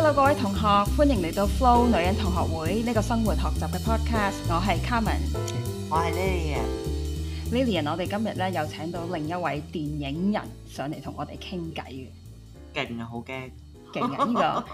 Hello， 各位同學，歡迎嚟到 Flo 女人同學會呢個生活學習嘅 podcast。我係 Carmen， 我係 Lilian。我哋今日咧又請到另一位電影人上嚟同我哋傾偈嘅。 勁啊，好驚！ 勁啊！呢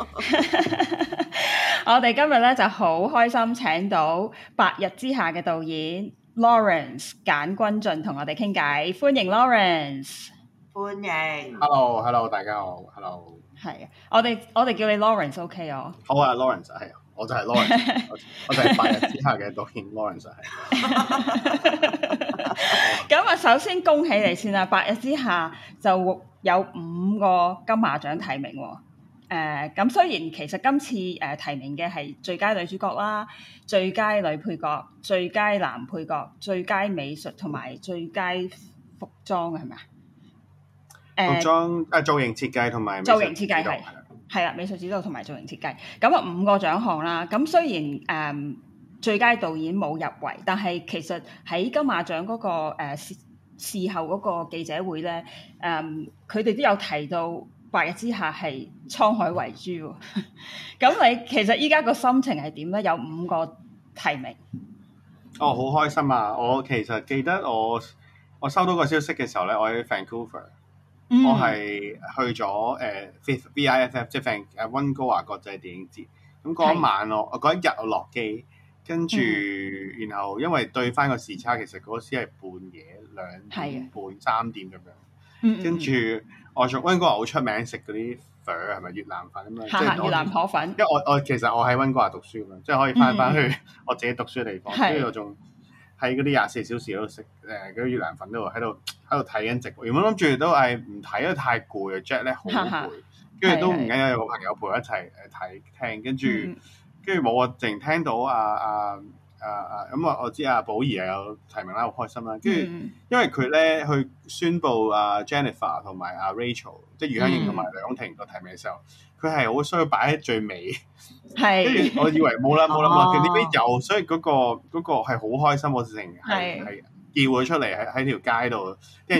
個我哋今日咧就好開心請到《白日之下》嘅導演 Lawrence 簡君進同我哋傾偈，歡迎 Lawrence。 歡迎。 Hello，大家好。Hello。 係啊，我哋叫你 Lawrence OK 哦。 好啊 ，Lawrence 係，我就係 Lawrence，我就係《白日之下》嘅導演 Lawrence 係。 咁啊，首先恭喜你先啦，《白日之下》就有5個金馬獎提名喎。咁雖然其實今次提名嘅係最佳女主角啦、最佳女配角、最佳男配角、最佳美術同埋最佳服裝係咪啊？ 服裝造型設計同埋造型設計係啦，美術指導同埋造型設計。咁啊5個獎項啦。咁雖然最佳導演冇入圍，但係其實喺金馬獎嗰個事後嗰個記者會咧，佢哋都有提到。白日之下係滄海遺珠喎，咁你其實依家個心情係點咧？有5個提名。 好開心啊！我其實記得我收到個消息嘅時候咧，我喺 Vancouver，我係去咗VIFF， 即係溫哥華國際電影節。咁嗰一晚我嗰一日我落機，跟住然後因為對翻個時差，其實嗰時係半夜2點半3點咁樣，跟住。我從溫哥華好出名食嗰啲粉係咪越南粉咁樣？即係越南河粉。 因為我其實我喺溫哥華讀書咁樣，即係可以翻去我自己讀書嘅地方。跟住我仲喺嗰啲24小時嗰度食嗰啲越南粉度喺度睇緊直播。原本諗住都係唔睇，因為太攰啊 ，Jet 咧好攰。跟住都唔緊要，有個朋友陪我一齊睇聽，跟住冇我淨聽到咁我知阿寶儀又有提名啦，好開心啦。跟住因為佢咧去宣佈Jennifer 同埋Rachel， 即係余香凝同埋梁婷個提名嘅時候，佢係好需要擺喺最尾。係。跟住我以為冇啦，佢呢邊有，所以嗰個係好開心，我直情係叫佢出嚟喺條街度，跟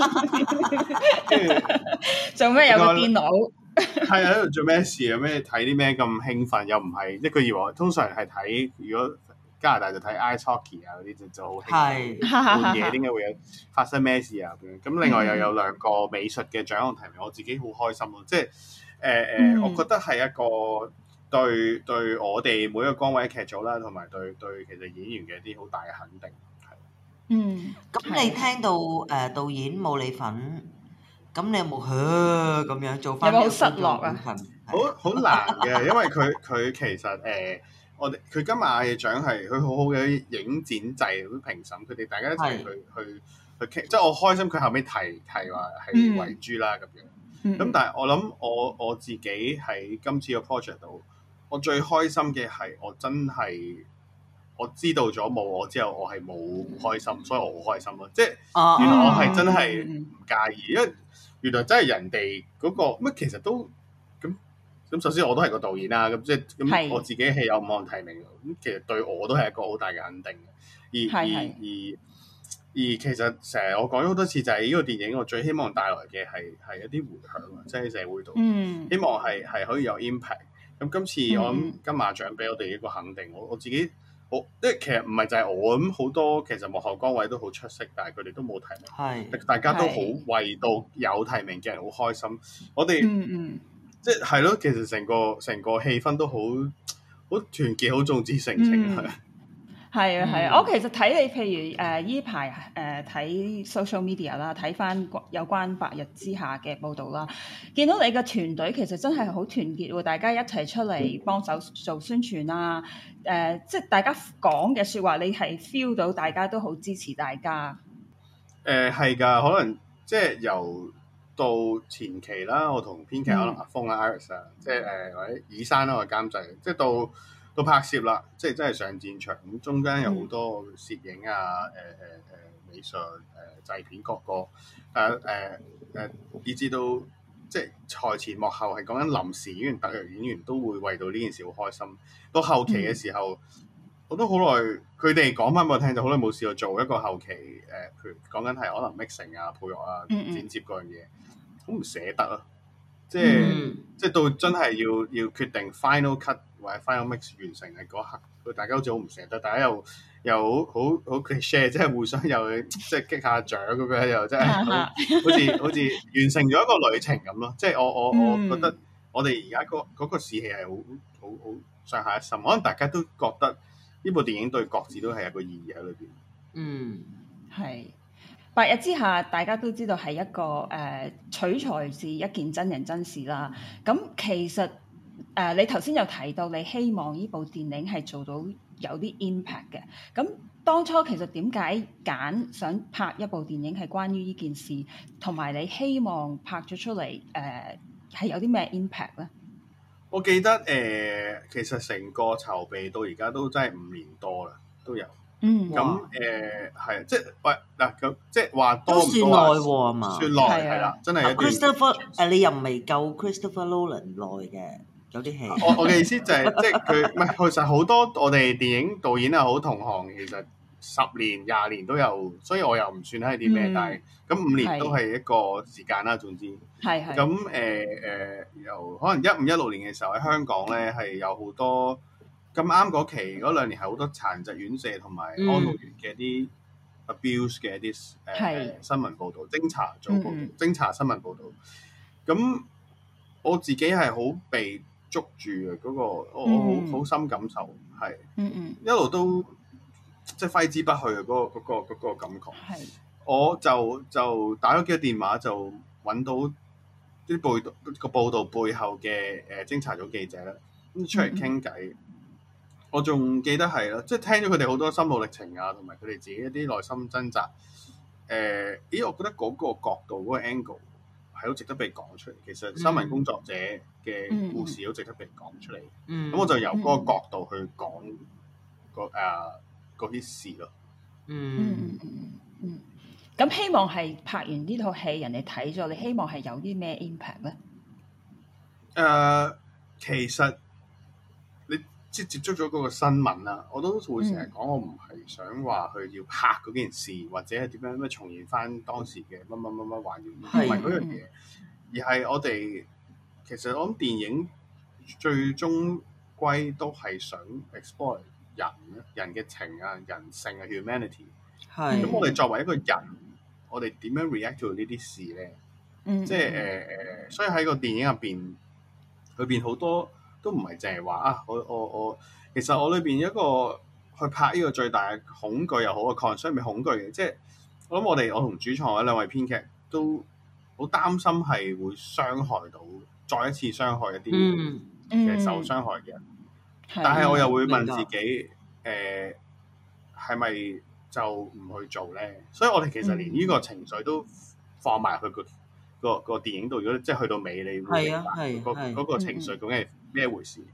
住做咩有個電腦？ 係喺度做咩事啊？咩睇啲咩咁興奮？又唔係即係佢以為通常係睇如果。加拿大就睇 ice hockey 啊嗰啲就好興奮，半夜點解會有發生咩事啊咁樣？咁另外又有2個美術嘅獎項提名，我自己好開心咯。即係我覺得係一個對我哋每一個崗位劇組啦，同埋對其實演員嘅一啲好大嘅肯定。 咁你聽到導演冇你份，咁你有冇咁樣做翻？ 有冇好失落啊？ 好難嘅，因為佢其實佢今日嘅獎係佢好好嘅影展制嗰啲評審，佢哋大家一齊去傾，即係我開心佢後尾提話係遺珠啦咁樣。咁但係我諗我自己喺今次個 project 度，我最開心嘅係我真係我知道咗冇我之後，我係冇開心，所以我好開心咯。即係原來我係真係唔介意，因為原來真係人哋嗰個乜其實都。咁首先我都係個導演啦，咁即係咁我自己係有5項提名，咁其實對我都係一個好大嘅肯定嘅。而其實成日我講咗好多次，就係呢個電影我最希望帶來嘅係一啲迴響，即係喺社會度，希望係可以有 impact。咁今次我諗金馬獎俾我哋一個肯定，我自己好，即係其實唔係就係我咁，好多其實幕後崗位都好出色，但係佢哋都冇提名，大家都好為到有提名嘅人好開心。我哋即係咯，其實成個氣氛都好團結，好眾志成城係啊！我其實睇你譬如依排睇 social media 啦，睇翻有關白日之下嘅報導啦，見到你嘅團隊其實真係好團結喎，大家一齊出嚟幫手做宣傳啊！即係大家講嘅説話，你係 feel 到大家都好支持大家。 係㗎，可能即係由到前期啦，我同編劇可能阿峰啊、Iris 啊，即係或者以山啦個監製，即係到拍攝啦，即係真係上戰場咁，中間有好多攝影啊、美術、製片各個，以至到即係台前幕後係講緊臨時演員、特約演員都會為到呢件事好開心。到後期嘅時候，我都好耐，佢哋講翻俾我聽，就好耐冇試過做一個後期譬如講緊係可能 mixing 啊、配樂啊、剪接嗰樣嘢。好唔捨得啊！ 即係到真係要決定 final cut 或者 final mix 完成嘅嗰刻，佢大家好似好唔捨得，大家又好 cliche， 即係互相又即係擊下掌咁樣，又真係好似完成咗一個旅程咁咯。即係我覺得我哋而家嗰個士氣係好上下一心，可能大家都覺得呢部電影對各自都係有個意義喺裏邊。 係。白日之下，大家都知道係一個取材自一件真人真事啦。咁其實你頭先有提到你希望呢部電影係做到有啲 impact 嘅。咁當初其實點解揀想拍一部電影係關於呢件事，同埋你希望拍咗出嚟係有啲咩 impact 咧？ 我記得其實成個籌備到而家都真係5年多啦，都有。咁係即係喂嗱咁即係話多唔多啊？ 都算耐喎嘛， 算耐係啦，真係一段。 Christopher 你又未夠 Christopher Nolan 耐嘅，有啲戲。 我嘅意思就係即係佢唔係其實好多我哋電影導演又好同行，其實10年20年都有，所以我又唔算係啲咩，但係咁5年都係一個時間啦。總之係咁由可能15-16年嘅時候喺香港咧係有好多。咁啱嗰期嗰2年係好多殘疾院舍同埋安老院嘅一啲 abuse 嘅一啲新聞報導、偵查組報導、偵查新聞報導。咁我自己係好被捉住嘅嗰個，我好深感受係，一路都即係揮之不去嘅嗰個感覺。我就打咗幾個電話就揾到啲個報導背後嘅偵查組記者啦，咁出嚟傾偈。我仲記得係咯，即係聽咗佢哋好多心路歷程啊，同埋佢哋自己一啲內心掙扎。我覺得嗰個角度、嗰個 angle 係好值得被講出嚟。其實新聞工作者嘅故事好值得被講出嚟。咁我就由嗰個角度去講嗰啲事咯。 咁希望係拍完呢套戲，人哋睇咗，你希望係有啲咩 impact 咧？ 其實。即係接觸咗嗰個新聞啦，我都會成日講，我唔係想話佢要拍嗰件事，或者係點樣咩重現翻當時嘅乜還原，唔係嗰樣嘢，而係我哋其實我諗電影最終歸都係想 explore 人嘅情啊、人性啊、humanity。咁我哋作為一個人，我哋點樣 react to 呢啲事咧？即係所以喺個電影入邊好多。都唔係淨係話啊！我其實我裏邊一個去拍呢個最大嘅恐懼又好嘅 concern 咪恐懼嘅，即係我諗我同主創嗰兩位編劇都好擔心係會傷害到，再一次傷害一啲嘅受傷害嘅人。但係我又會問自己係咪就唔去做咧？所以我哋其實連呢個情緒都放埋去個電影度。如果即係去到尾，你會明白嗰個情緒究竟係咩回事？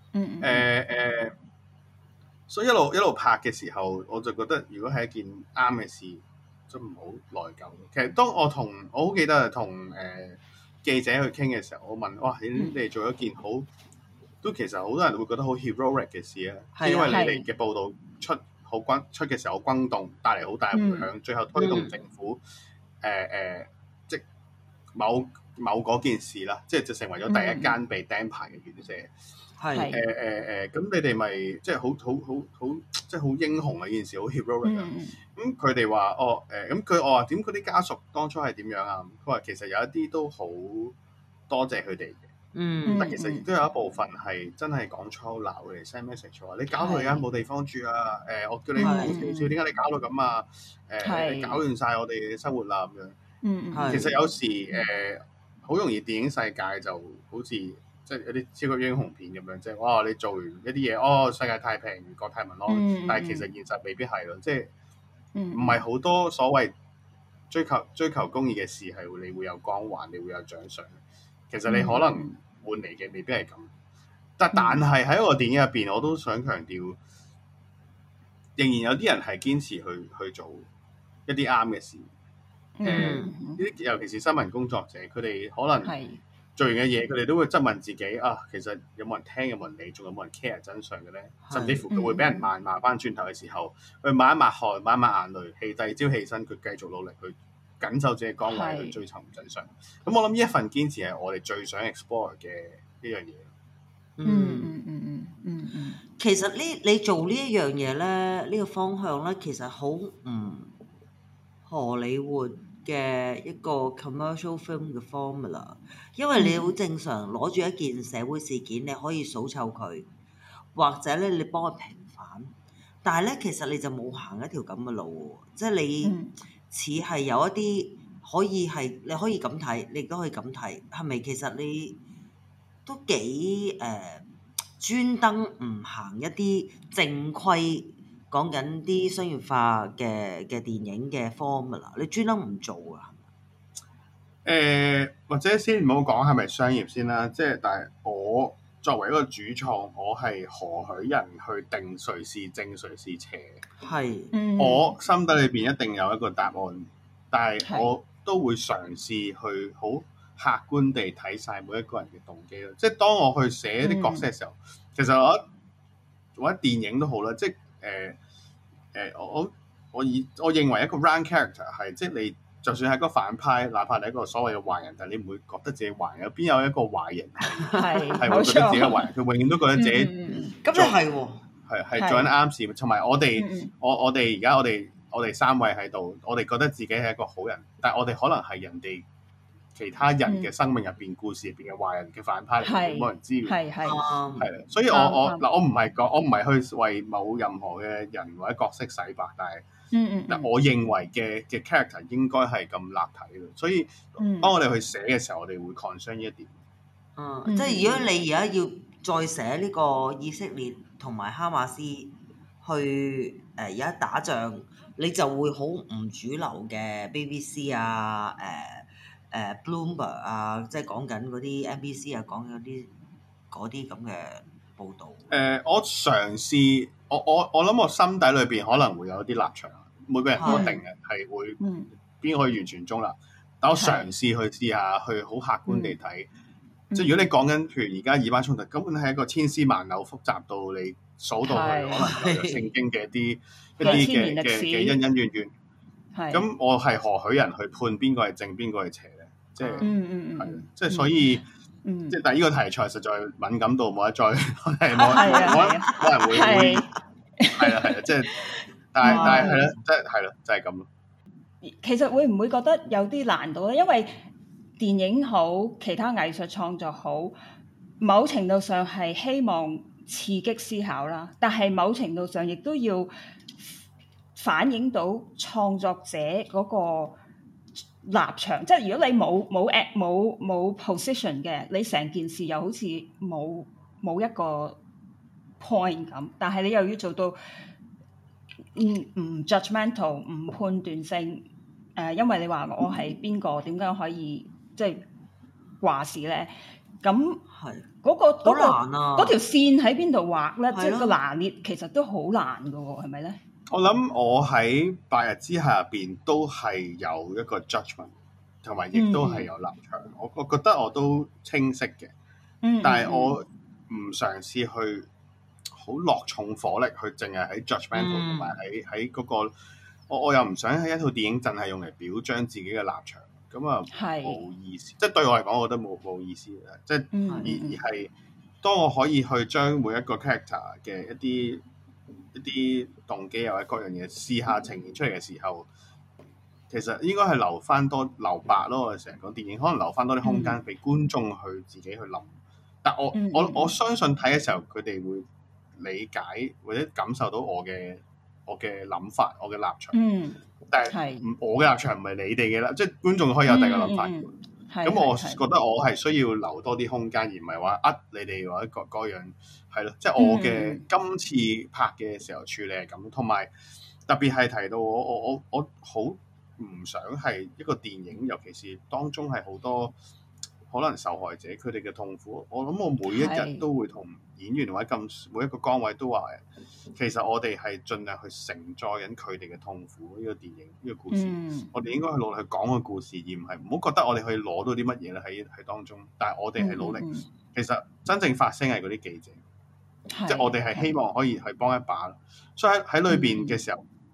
所以一路拍嘅時候，我就覺得如果係一件啱嘅事，就唔好內疚。其實當我好記得同記者去傾嘅時候，我問：哇，你哋做一件都其實好多人會覺得好 heroic 嘅事啊，因為你哋嘅報導出嘅時候好轟動，帶嚟好大嘅迴響，最後推動政府即某嗰件事啦，即係就成為咗第一間被釘牌嘅院舍。咁你哋咪即係好即係好英雄啊！呢件事好 heroic 啊！咁佢哋話咁我話點嗰啲家屬當初係點樣啊？佢話其實有一啲都好多謝佢哋嘅，但其實亦都有一部分係真係講粗口鬧佢哋 send message 話你搞到而家冇地方住啊！我叫你唔好笑，點解你搞到咁啊？你搞亂晒我哋嘅生活啦咁樣。其實有時好容易電影世界就好似即係有啲超級英雄片咁樣，即係哇你做完一啲嘢，世界太平，國泰民安。但係其實現實未必係咯，即係唔係好多所謂追求公義嘅事係你會有光環，你會有獎賞。其實你可能換嚟嘅未必係咁。但係喺個電影入邊，我都想強調，仍然有啲人係堅持去做一啲啱嘅事。尤其是新聞工作者，佢哋可能做完嘅嘢，佢哋都會質問自己啊，其實有冇人聽，有冇人理，仲有冇人 care 真相嘅咧？甚至乎佢會俾人罵翻轉頭嘅時候，佢抹一抹汗，抹一抹眼淚，第二朝起身，佢繼續努力去緊守自己崗位去追尋真相。咁我諗呢一份堅持係我哋最想 explore 嘅一樣嘢。 其實你做呢一樣嘢咧，呢個方向咧，其實好唔荷里活嘅一個 commercial film 嘅 formula， 因為你好正常攞住一件社會事件，你可以數臭佢，或者咧你幫佢平反，但係咧其實你就冇行一條咁嘅路喎，即係你似係有一啲可以係你可以咁睇，你亦都可以咁睇，係咪其實你都幾專登唔行一啲正規講緊啲商業化嘅電影嘅 formula， 你專登唔做啊？ 或者先唔好講係咪商業先啦，即係但係我作為一個主創，我係何許人去定誰是正誰是邪？ 係， 我心底裏邊一定有一個答案，但係我都會嘗試去好客觀地睇晒每一個人嘅動機咯。即係當我去寫啲角色嘅時候，其實我覺得電影都好啦，即係我認為一個 round character 係即係你。就算係個反派，哪怕你係一個所謂嘅壞人，但係你唔會覺得自己壞人。邊有一個壞人係會覺得自己係壞人？佢永遠都覺得自己咁又係喎， 係做緊啱事。同埋我哋而家我哋三位喺度，我哋覺得自己係一個好人，但係我哋可能係人哋其他人嘅生命入邊、故事入邊嘅壞人嘅反派，冇人知。係啦，所以我唔係去為某任何嘅人或者角色洗白，但係。但我認為嘅 character 應該係咁立體咯，所以當我哋去寫嘅時候，我哋會 concern 呢一點。 即係如果你而家要再寫呢個以色列同埋哈馬斯去而家打仗，你就會好唔主流嘅 BBC 啊、Bloomberg 啊，即係講緊嗰啲 NBC 啊，講緊嗰啲咁嘅報導。 我嘗試，我諗我心底裏邊可能會有啲立場。每個人都一定嘅係會邊可以完全中立，但我嘗試去試下去好客觀地睇，即係如果你講緊譬如而家以巴衝突，根本係一個千絲萬縷複雜到你數到去可能有聖經嘅一啲嘅恩恩怨怨。咁我係何許人去判邊個係正邊個係邪咧？即係即係所以即係但係呢個題材實在敏感到冇得再冇人會係啦，即係。但係係咯，即係係咯，就係咁咯。 其實會唔會覺得有啲難度咧？因為電影好，其他藝術創作好，某程度上係希望刺激思考啦，但係某程度上亦都要反映到創作者嗰個立場。即係如果你冇 position 嘅，你成件事又好似冇一個 point 咁，但係你又要做到。唔 judgmental， 唔判斷性，因為你話我係邊個，點解可以即係話事咧？咁嗰條線喺邊度畫咧？即係個拿捏其實都好難㗎喎，係咪咧？ 我諗我喺白日之下入邊都係有一個 judgment， 同埋亦都係有立場。我覺得我都清晰嘅，但係我唔嘗試去。好落重火力去，淨係喺 judgmental 同埋喺嗰個，我又唔想喺一套電影淨係用嚟表彰自己嘅立場，咁啊冇意思。即係對我嚟講，我覺得冇意思嘅。即係而係當我可以去將每一個 character 嘅一啲動機或者各樣嘢試下呈現出嚟嘅時候，其實應該係留白咯。我哋成日講電影，可能留翻多啲空間俾觀眾去自己去諗。但我相信睇嘅時候，佢哋會理解或者感受到我嘅諗法，我嘅立場。但係我嘅立場唔係你哋嘅啦，即係觀眾可以有第二個諗法。咁我覺得我係需要留多啲空間，而唔係話你哋或者各樣係咯。即係我嘅今次拍嘅時候處理係咁，同埋特別係提到我好唔想係一個電影，尤其是當中係好多可能受害者佢哋嘅痛苦。我諗我每一日都會同演員或者每一個崗位都話，其實我哋係盡量去承載緊佢哋嘅痛苦。呢個電影呢個故事，我哋應該去努力去講個故事，而唔係唔好覺得我哋可以攞到啲乜嘢咧喺當中。但係我哋係努力，其實真正發聲係嗰啲記者，即係我哋係希望可以去幫一把。所以喺裏邊嘅時候，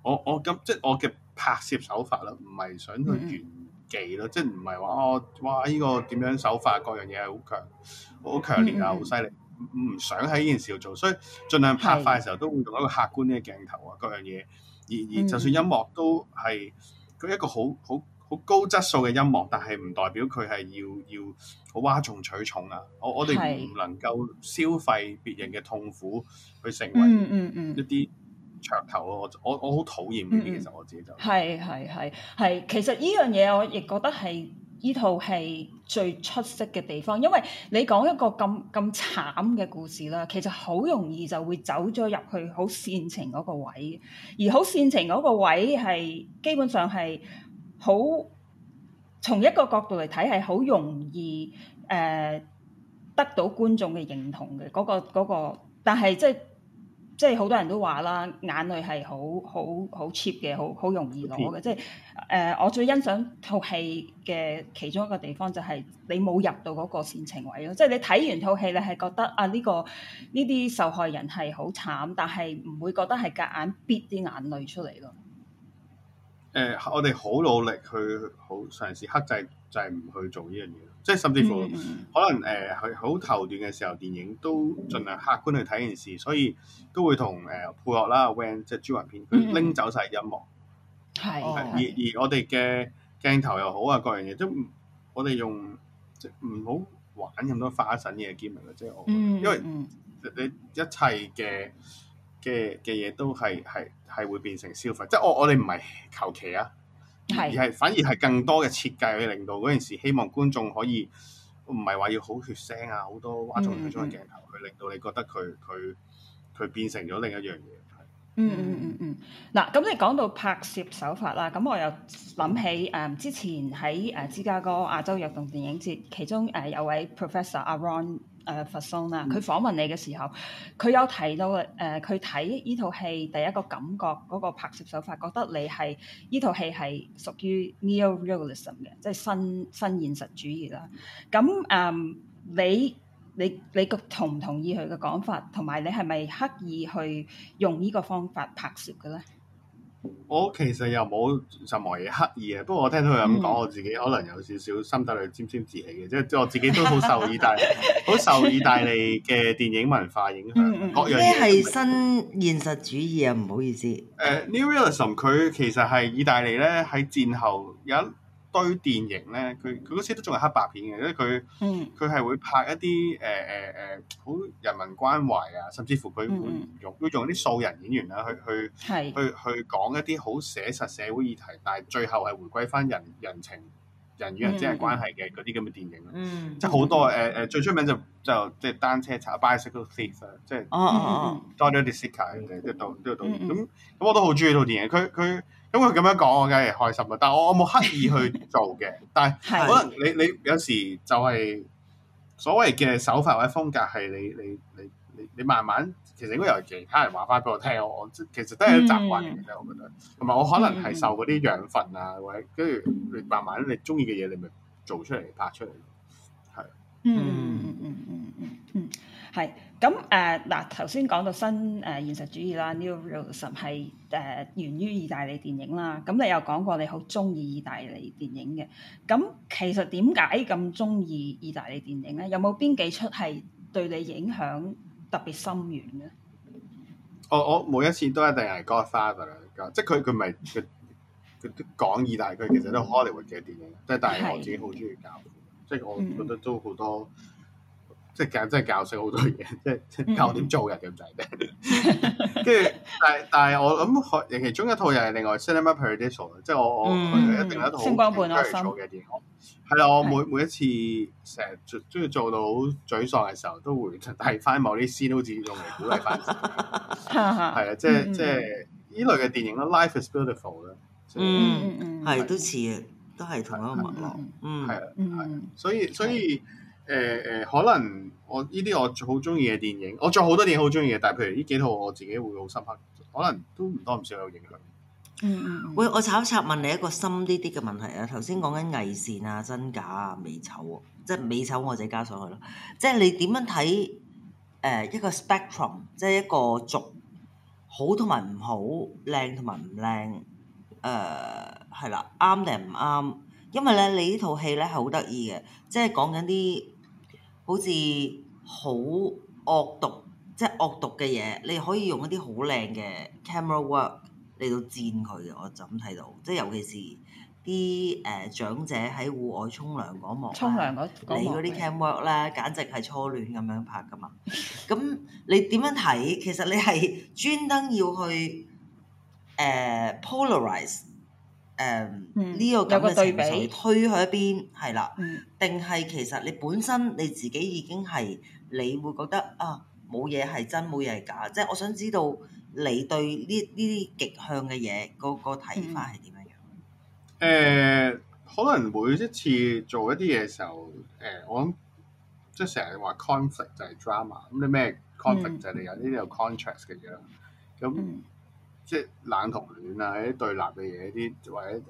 我咁即係我嘅拍攝手法啦，唔係想去炫技咯，即係唔係話我哇呢個點樣手法各樣嘢係好強烈啊，好犀利，唔想喺呢件事度做，所以盡量拍快嘅時候都會用一個客觀啲嘅鏡頭啊，各樣嘢，而就算音樂都係佢一個好高質素嘅音樂，但係唔代表佢係要好嘩眾取寵啊！我哋唔能夠消費別人嘅痛苦去成為一啲噱頭咯。我好討厭呢啲，其實我自己就係。其實呢樣嘢我亦覺得係呢套戲最出色嘅地方，因為你講一個咁慘嘅故事啦，其實好容易就會走咗入去好煽情嗰個位，而好煽情嗰個位係基本上係好從一個角度嚟睇係好容易得到觀眾嘅認同嘅嗰個，但係即係好多人都話啦，眼淚係好 cheap 嘅，好容易攞嘅。即係我最欣賞套戲嘅其中一個地方就係你冇入到嗰個煽情位咯。即係你睇完套戲，你係覺得啊呢啲受害人係好慘，但係唔會覺得係夾硬逼啲眼淚出嚟咯。 我哋好努力去好嘗試克制，就係唔去做呢樣嘢。即係甚至乎可能係好頭段嘅時候，電影都盡量客觀去睇件事，所以都會同配樂啦 Van 即係朱雲片，佢拎走晒音樂。而我哋嘅鏡頭又好啊，各樣嘢都我哋用即係唔好玩咁多花神嘅 gimmick 啦，即係我覺得因為你一切嘅嘢都係會變成消費，即係我哋唔係求其啊，而係反而係更多嘅設計去令到嗰件事，希望觀眾可以唔係話要好血腥啊，好多嘩眾取寵嘅鏡頭，去令到你覺得佢變成咗另一樣嘢。 嗱，咁你講到拍攝手法啦，咁我又諗起之前喺芝加哥亞洲躍動電影節，其中有位 Professor 阿 Ron Fasson 啦，佢訪問你嘅時候，佢有提到佢睇呢套戲第一個感覺嗰個拍攝手法，覺得你係呢套戲係屬於 Neo-Realism 嘅，即係新現實主義啦。咁你同唔同意佢嘅講法？同埋你係咪刻意去用呢個方法拍攝嘅咧？ 我其實又冇任何嘢刻意嘅，不過我聽到佢咁講，我自己可能有少少心底裏沾沾自喜嘅，即係我自己都好受意大利嘅電影文化影響，各樣嘢。 咩係新現實主義啊？唔好意思。 Neo-Realism 佢其實係意大利咧喺戰後有一堆電影咧，佢嗰時都仲係黑白片嘅，因為佢係會拍一啲好人民關懷啊，甚至乎佢會用啲素人演員啦，去講一啲好寫實社會議題，但係最後係回歸翻人情人與人之間關係嘅嗰啲咁嘅電影啦。即係好多最出名就即係單車賊 Bicycle Thief 啊，即係 Giorgio De Sica 即係導演咁我都好中意套電影，佢咁佢咁樣講，我梗係開心啦。但係我冇刻意去做嘅，但係可能你有時就係所謂嘅手法或者風格係你慢慢其實應該由其他人話翻俾我聽，我其實都係一習慣嚟嘅，我覺得。同埋我可能係受嗰啲養分啊，或者跟住你慢慢你中意嘅嘢，你咪做出嚟拍出嚟。係。 係咁嗱，頭先講到新現實主義啦 Neo-Realism 係源於意大利電影啦。咁你又講過你好中意意大利電影嘅，咁其實點解咁中意意大利電影咧？有冇邊幾出係對你影響特別深遠嘅？ 我每一次都一定係 Godfather 啦，即係佢唔係佢都講意大利，佢其實都 Hollywood 嘅電影，即係但係我自己好中意教父，即係我覺得都好多。即係教識好多嘢，即係教我點做人咁滯嘅。跟住，但係我諗其中一套又係另外 Cinema Paradiso， 即係我一定有一套星光伴我心嘅電影。係啦，我每一次成日中意做到好沮喪嘅時候，都會睇翻某啲 scene 好似用嚟鼓勵翻自己。係啊，即係呢類嘅電影啦 Life is Beautiful 啦。 係都似嘅，都係同一個脈絡。 係啊，所以。可能我呢啲我好中意嘅電影，我仲有好多電影好中意嘅，但係譬如呢幾套我自己會好深刻，可能都唔多唔少有影響。 喂，我插問你一個深啲嘅問題啊！頭先講緊偽善啊、真假啊、美醜，即係美醜我自己加上去咯。即係你點樣睇一個 spectrum，即係一個軸好同埋唔好，靚同埋唔靚，係啦，啱定唔啱？因為咧，你呢套戲咧係好得意嘅，即係講緊啲好似好惡毒，即係惡毒嘅嘢，你可以用一啲好靚嘅 camera work 嚟到戰佢嘅，我就咁睇到，即係尤其是啲長者喺戶外沖涼嗰幕， 沖涼嗰幕你嗰啲 cam work 咧，簡直係初戀咁樣拍噶嘛。咁你點樣睇？其實你係專登要去polarize 呢個咁嘅情緒推去一邊，係啦，定係其實你本身你自己已經係你會覺得啊冇嘢係真，冇嘢係假，即係我想知道你對呢啲極向嘅嘢個睇法係點樣？ 可能每一次做一啲嘢嘅時候，我諗即係成日話 conflict 就係 drama，咁你咩 conflict 就係你有呢啲有 contrast 嘅嘢啦。咁即係冷同暖啊，啲對立嘅嘢，啲或者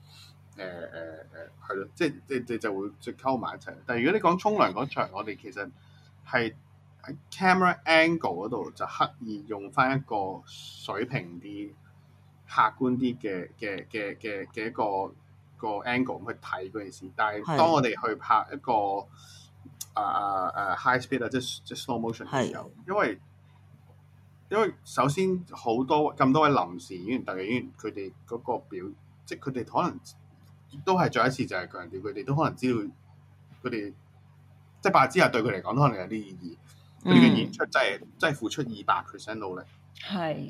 係咯，即係你就會即係溝埋一齊。但係如果你講沖涼嗰場，我哋其實係喺 camera angle 嗰度就刻意用翻一個水平啲、客觀啲嘅一個 angle 去睇嗰件事。但係當我哋去拍一個high speed 啊，即係 slow motion 嘅時候，因為首先咁多位臨時演員、特技演員，佢哋嗰個即係佢哋可能都係再一次就係強調，佢哋都可能知道佢哋即係白日之下對佢嚟講都可能有啲意義。佢哋嘅演出真係付出200% 努力。 係。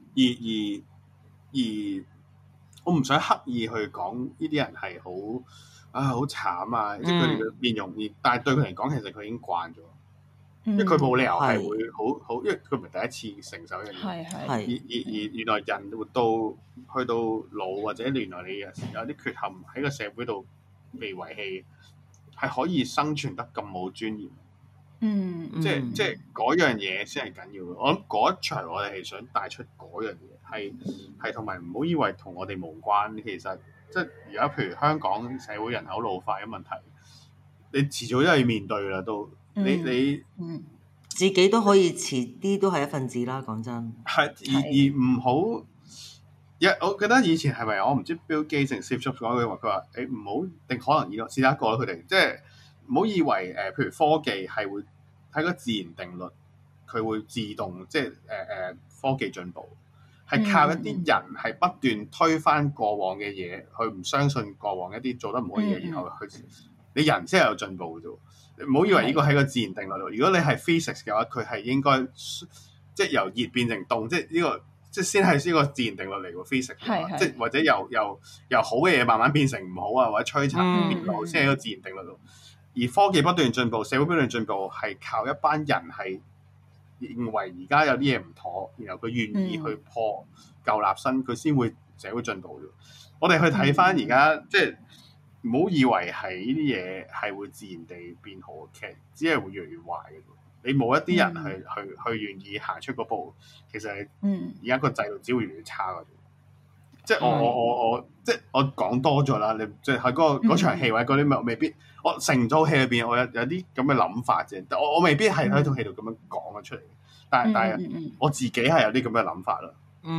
而我唔想刻意去講呢啲人係好慘啊！即係佢哋嘅面容，但係對佢嚟講，其實佢已經慣咗。因為佢冇理由係會好，因為佢唔係第一次承受一樣嘢。而原來人活到去到老，或者原來你有啲缺陷喺個社會度被遺棄，係可以生存得咁冇尊嚴。即係嗰樣嘢先係緊要嘅。我諗嗰一場我哋係想帶出嗰樣嘢，係同埋唔好以為同我哋無關。其實即係而家譬如香港社會人口老化嘅問題，你遲早都係要面對啦。都你自己都可以遲啲都係一份子啦。講真係而唔好我記得以前係咪我唔知 Bill Gates 定 Steve Jobs 講句話，佢話唔好定可能試下一個佢哋即係唔好以為譬如科技係會睇個自然定律，佢會自動即係科技進步係靠一啲人係不斷推翻過往嘅嘢，佢唔相信過往一啲做得唔好嘅嘢，然後你人先係有進步嘅啫。你唔好以為呢個係個自然定律咯。如果你係 physics 嘅話，佢係應該即係由熱變成凍，即係呢個即係先係呢個自然定律嚟喎。physics 即係或者由好嘅嘢慢慢變成唔好啊，或者摧殘變老先係一個自然定律咯。而科技不斷進步，社會不斷進步，係靠一班人係認為而家有啲嘢唔妥，然後佢願意去破舊立新，佢先會社會進步啫。我哋去睇翻而家，即係唔好以為係呢啲嘢係會自然地變好，其實只係會越嚟越壞嘅。你冇一啲人去願意行出嗰步，其實而家個制度只會越嚟越差嘅。即係我即係我講多咗啦，你即係喺嗰場戲或者嗰啲未必，我成套戲裏邊我有啲咁嘅諗法啫。我未必係喺套戲度咁樣講咗出嚟，但係我自己係有啲咁嘅諗法啦。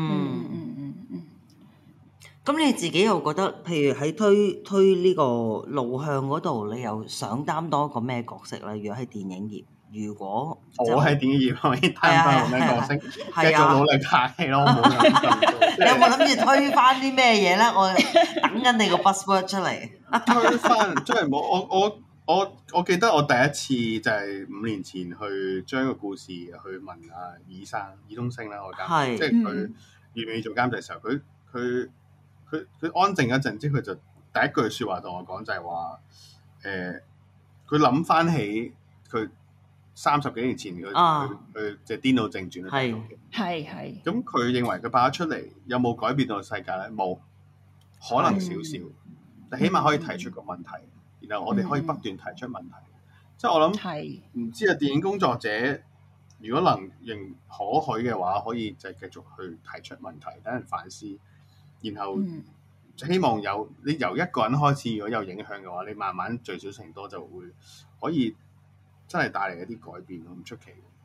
咁你自己又覺得，譬如喺推呢個路向嗰度，你又想擔當一個咩角色咧？如果喺電影業，如果我喺電影業可以擔當個咩角色？繼續努力拍戲咯。 你有冇諗住推翻啲咩嘢咧？我等緊你個 buzzword 出嚟。 推翻真係冇。我記得我第一次就係5年前去將個故事去問阿爾冬升啦，我監即係佢預備做監製嘅時候，佢安靜一陣之後，佢就第一句説話同我講就係話佢諗翻起佢30幾年前佢即係《顛倒正傳》 係咁佢認為佢拍得出嚟有冇改變到世界咧？冇，可能少少，但起碼可以提出個問題，然後我哋可以不斷提出問題。即係我諗唔知啊，電影工作者如果能認可許嘅話，可以就繼續去提出問題，等人反思。然後希望你由一個人開始，如果有影響嘅話，你慢慢聚少成多就會可以真係帶嚟一啲改變咯，唔出奇。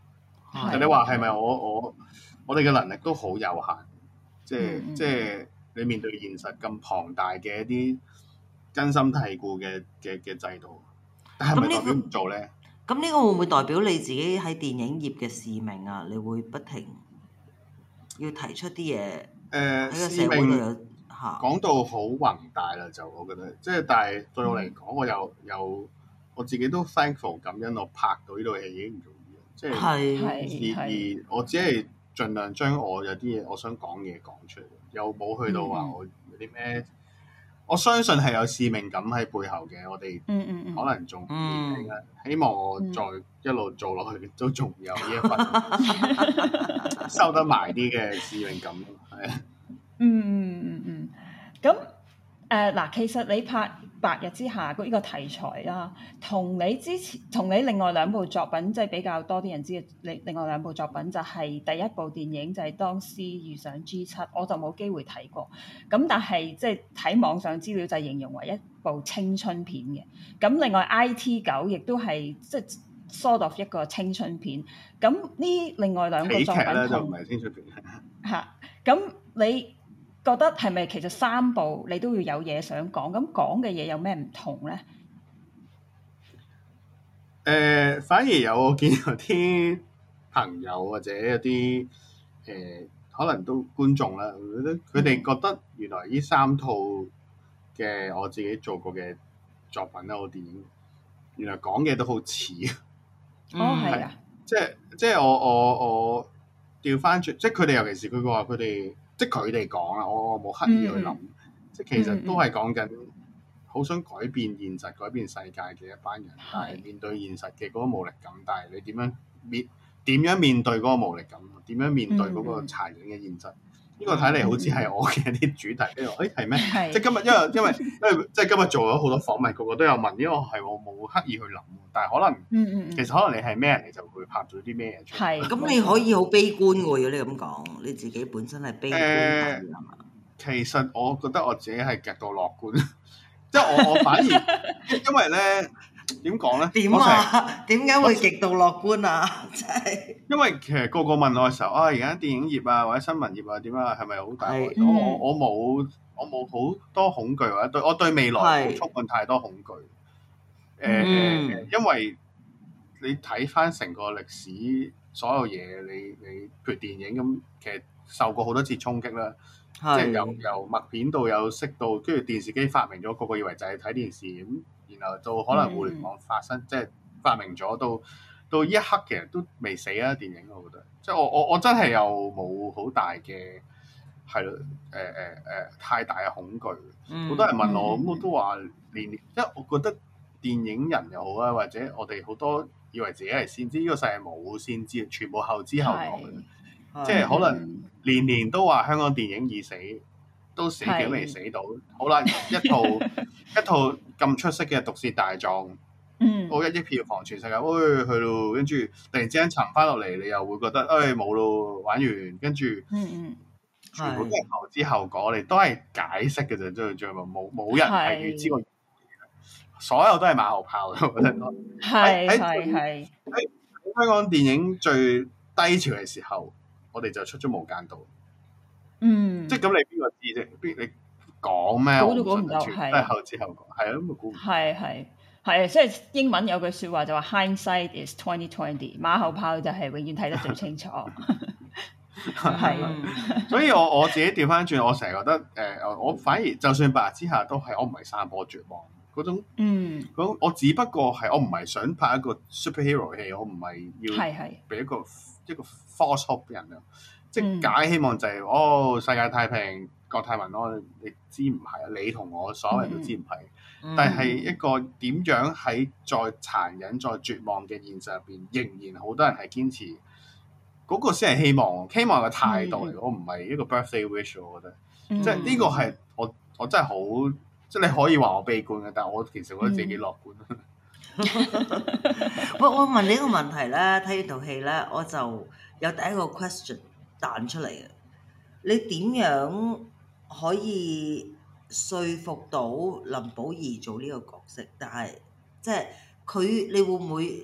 但你話係咪我哋嘅能力都好有限，即係你面對現實咁龐大嘅一啲根深蒂固嘅制度，但係咪代表唔做咧？ 咁呢個會唔會代表你自己喺電影業嘅使命啊？你會不停要提出啲嘢喺個社會度有嚇講到好宏大啦，就我覺得，即係但係對我嚟講，我有我自己都 thankful 感恩，我拍到呢套戲已經唔容易，即係而我只係盡量將我有啲嘢我想講嘅嘢講出嚟，又冇去到話我有啲咩。我相信係有使命感喺背後嘅，我哋可能仲年輕啦，希望我再一路做落去都仲有呢一份收得埋啲嘅使命感，係啊。 咁嗱，其實你拍《白日之下》呢個題材啦，同你另外兩部作品，即係比較多啲人知嘅，另外兩部作品就係第一部電影就係《當 C 遇上 G7》，我就冇機會睇過。咁但係即係睇網上資料就形容為一部青春片嘅。咁另外 IT9亦都係即係 sort of 一個青春片。咁呢另外兩個作品就唔係青春片嚇。咁你覺得係咪其實三部你都要有嘢想講？咁講嘅嘢有咩唔同咧？ 反而有我見有啲朋友或者有啲可能都觀眾啦，佢哋覺得原來呢三套嘅我自己做過嘅作品啦，我電影原來講嘅都好似係啊， 即係我調翻轉，即係佢哋尤其是佢話佢哋。即係佢哋講啦，我冇刻意去諗，即係其實都係講緊好想改變現實、改變世界嘅一班人，但係面對現實嘅嗰個無力感，但係你點樣面對嗰個無力感？點樣面對嗰個殘忍嘅現實？呢個睇嚟好似係我嘅一啲主題。跟住我，係咩？即係今日因為即係今日做咗好多訪問，個個都有問，因為係我冇刻意去諗，但係可能其實可能你係咩人，你就會拍咗啲咩嘢出嚟。 咁你可以好悲觀喎，如果你咁講，你自己本身係悲觀派係嘛？ 其實我覺得我自己係極度樂觀，即係我反而因為咧。點講咧？ 點啊？點解會極度樂觀啊？真係因為其實個問我嘅時候，而家電影業啊或者新聞業啊點啊，係咪好大？我冇好多恐懼，或者我對未來冇充滿太多恐懼。因為你睇翻成個歷史，所有嘢你譬如電影咁，其實受過好多次衝擊啦。即係由默片到有色到，跟住電視機發明咗，個個以為就係睇電視咁。然後到可能互聯網發生，即係發明咗到呢一刻，其實都未死啊！電影我覺得，即係我真係又冇好大嘅係咯，太大嘅恐懼。好多人問我，咁我都話因為我覺得電影人又好啊，或者我哋好多以為自己係先知，呢個世界冇先知，全部後知後覺嘅，即係可能年都話香港電影已死。都死幾未死到，好啦！一套咁出色嘅《毒舌大狀》，我1億票房全世界，去咯，跟住突然之間沉翻落嚟，你又會覺得，冇咯，玩完，跟住，全部都係後知後覺，我哋都係解釋嘅啫，最後冇人係預知過，所有都係馬後炮，我覺得。喺香港電影最低潮嘅時候，我哋就出咗《無間道》。即係咁，你邊個知啫？你講咩？ 估都估唔到，係都係後知後覺，係啊，咁咪估唔到。 係，即係英文有句説話就話 hindsight is 2020，馬後炮就係永遠睇得最清楚。 所以我自己調翻轉，我成日覺得我反而就算白日之下都係，我唔係散播絕望嗰種。我只不過係我唔係想拍一個 superhero 戲，我唔係要俾一個 false hope 俾人啊。即係假希望就係世界太平，國泰民安，你知唔係啊？你同我所有人都知唔係，但係一個點樣喺再殘忍、再絕望嘅現實入邊，仍然好多人係堅持嗰個先係希望嘅態度嚟。我唔係一個 birthday wish， 我覺得即係呢個係我真係好，即係你可以話我悲觀嘅，但係我其實覺得自己樂觀。 我問你一個問題咧，睇呢套戲咧，我就有第一個 question。彈出嚟嘅，你點樣可以說服到林保怡做呢個角色？但係即係佢，你會唔會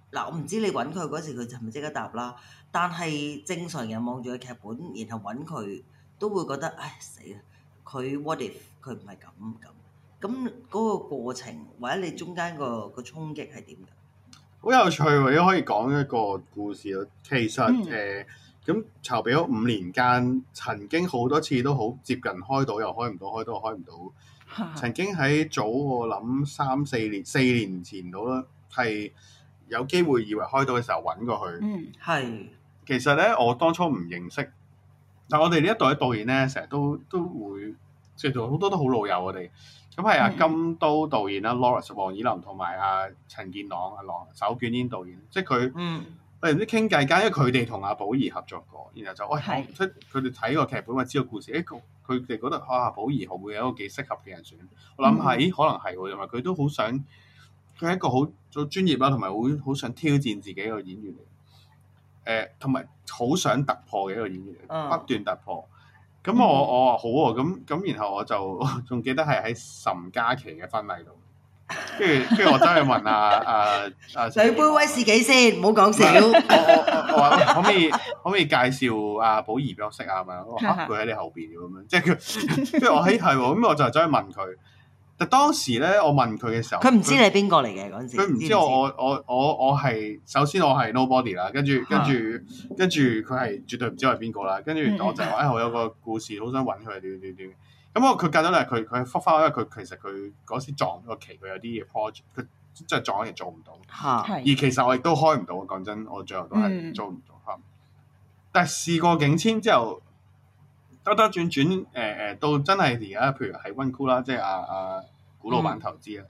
嗱，我唔知你揾佢嗰時佢係咪即刻答啦，但係正常人望住個劇本，然後揾佢都會覺得唉死啦！佢 what if 佢唔係咁嗰個過程或者你中間個衝擊係點㗎？ 好有趣喎！都可以講一個故事咯。其實咁籌備咗5年間，曾經好多次都好接近開到，又開唔到，開到又開唔到。曾經喺早我諗4年前到啦，係有機會以為開到嘅時候揾過佢。 係。 其實咧，我當初唔認識，但我哋呢一代嘅導演咧，成日都會即係好多都好老友我哋。咁係阿金都導演啦，Lawrence 黃以林同埋阿陳健朗阿狼手捲煙導演，即係佢。我哋唔知傾偈間，因為佢哋同阿寶儀合作過，然後就即係佢哋睇個劇本，或知道故事，佢哋覺得寶儀會有一個幾適合嘅人選。我諗係可能係喎，因為佢都好想，佢係一個好專業啦，同埋好想挑戰自己一個演員嚟。同埋好想突破嘅一個演員嚟，不斷突破。咁我話好喎，咁然後我就仲記得係喺岑嘉琪嘅婚禮度。跟住我真係問兩杯威士忌先，唔好講笑。 我話可唔可以介紹阿寶儀俾我識啊？咪我嚇佢喺你後邊咁樣，即係佢。跟住我係喎，咁我就走去問佢。但當時咧，我問佢嘅時候， 佢唔知你係邊個嚟嘅嗰陣時。 佢唔知我係首先我係 nobody 啦，跟住佢係絕對唔知我係邊個啦。跟住我就話我有個故事好想揾佢點。咁佢隔咗嚟，佢覆返，因為佢其實佢嗰時撞咗個期，佢有啲嘢 project，佢即係撞咗嘢做唔到。而其實我亦都開唔到，講真，我最後都係做唔到。但係事過境遷之後，兜轉到真係而家，譬如喺溫酷啦，即係阿古老闆投資啦，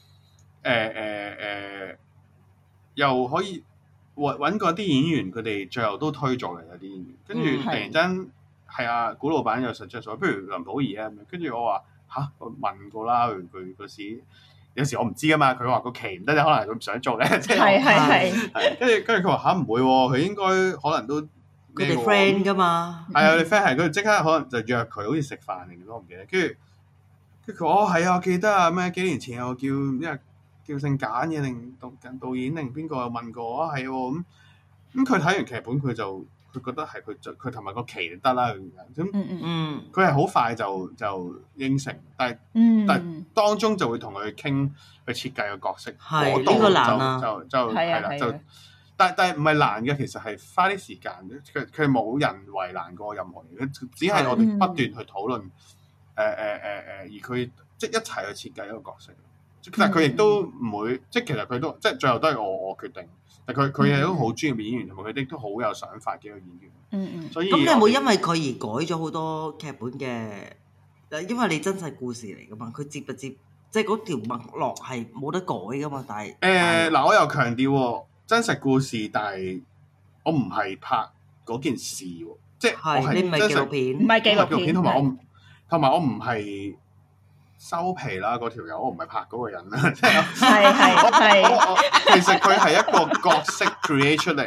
又可以揾過啲演員，佢哋最後都推咗嚟有啲演員，跟住突然間。係啊，古老闆有 suggest 咗，不如林保怡啊咁樣。跟住我話嚇，我問過啦，佢嗰時有時我唔知噶嘛，佢話個期唔得，可能係佢唔想做咧。係。跟住佢話嚇唔會喎，佢應該可能都佢哋 friend 噶嘛。 係啊，你 friend 係佢即刻可能就約佢，好似食飯定我唔記得。跟住佢話係啊，我記得啊，咩幾年前我叫姓簡嘅定導演定邊個問過啊，係喎咁佢睇完劇本佢就。佢覺得係佢同埋個期就得啦，咁佢係好快就應承，但係當中就會同佢傾去設計個角色， 係呢個難啊， 就係啦，就但係唔係難嘅，其實係花啲時間，佢冇人為難過任何嘢，只係我哋不斷去討論，而佢即係一齊去設計一個角色，但係佢亦都唔會，即係其實佢都即係最後都係我決定。但佢係一個好專業嘅演員，同埋佢哋都好有想法嘅一個演員。所以咁你有冇因為佢而改咗好多劇本嘅？因為你真實故事嚟噶嘛，佢接不接，即係嗰條脈絡係冇得改噶嘛。但係嗱，我又強調喎，真實故事，但係我唔係拍嗰件事喎，即係我係你唔係紀錄片， 唔係紀錄片， 同埋我唔係。收皮啦！嗰條友我唔係拍嗰個人啦，即係其實佢係一個角色 create 出嚟，